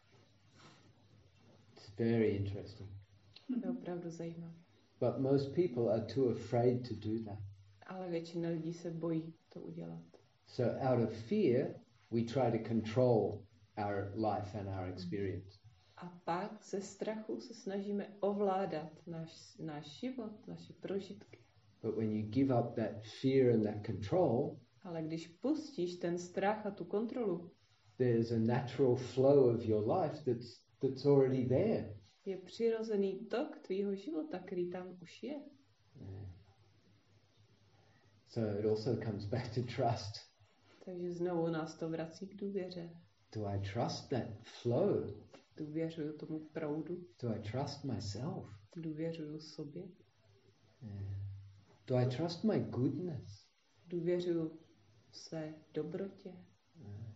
It's very interesting. To je opravdu zajímavé. But most people are too afraid to do that. Ale většina lidí se bojí to udělat. So out of fear, we try to control our life and our experience. A pak ze strachu se snažíme ovládat náš život, naše prožitky. But when you give up that fear and that control, ale když pustíš ten strach a tu kontrolu, there's a natural flow of your life that's already there. Je přirozený tok tvýho života, který tam už je. Yeah. So it also comes back to trust. Takže znovu nás to vrací k důvěře. Do I trust that flow? Důvěřuju tomu proudu. Do I trust myself? Důvěřuju sobě. Yeah. Do I trust my goodness? Důvěřuju své dobrotě. Yeah.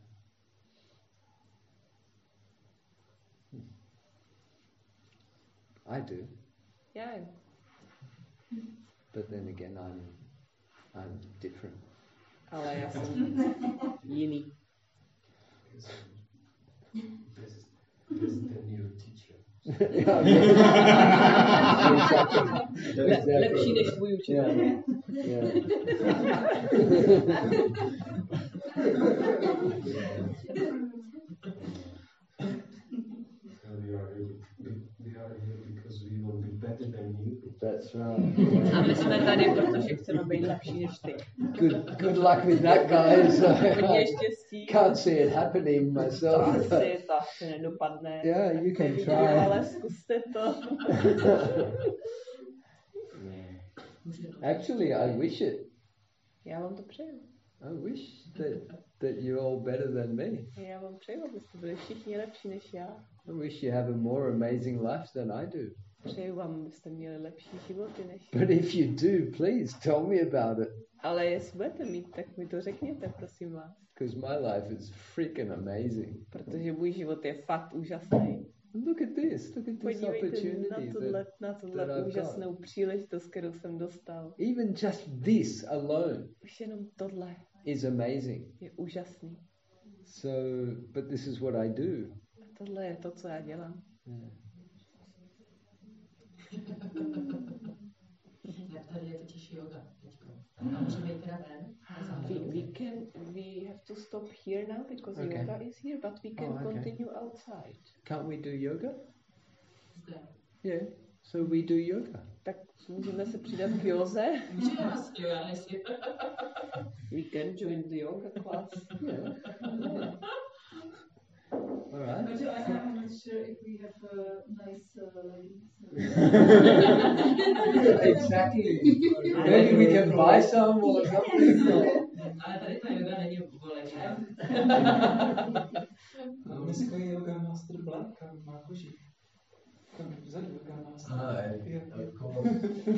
I do. Já jo. But then again, I'm different. Ale já jsem jiný. This is the new teacher. Lepší než tvůj učitel. Yeah. We are here because we want to be better than you. That's right. A my jsme tady, protože chceme být lepší než ty. Good luck with that, guys. Hodně štěstí. Can't see it happening myself. Asi to asi nedopadne. Yeah, you can nevidím, try. Ale zkuste to. Actually, I wish it. Já vám to přeju. I wish that you're all better than me. Já vám přeju, abyste byli všichni lepší než já. I wish you have a more amazing life than I do. Přeju vám, abyste měli lepší životy než But if you do, please tell me about it. Ale jestli budete mít, tak mi to řekněte, prosím vás. Because my life is freaking amazing. Protože můj život je fakt úžasný. Look at this opportunity na tohle úžasnou příležitost, kterou jsem dostal. Even just this alone. Už jenom tohle is amazing. Je úžasný. So, but this is what I do. A tohle je to, co já dělám. Yeah. Tady je totiž yoga. We have to stop here now because yoga is here, but we can continue outside. Can't we do yoga? Yeah, so we do yoga. Tak můžeme se přidat k józe. We can join the yoga class. Yeah. All right. But I'm not sure if we have nice leggings. Exactly. Maybe we can buy some or something. Ale tady ta yoga není povolená. Dneska je yoga master black a má kožich. Tam vzadu yoga master. Of course.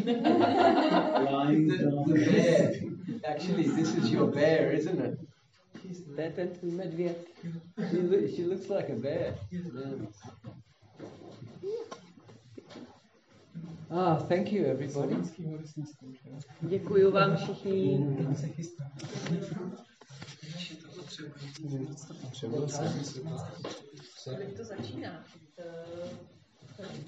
The bear. Actually, this is your bear, isn't it? To je ten tvůj medvěd. She looks like a bear. Yeah. Thank you, everybody. Děkuju vám všichni. Třeba Kdy to začíná?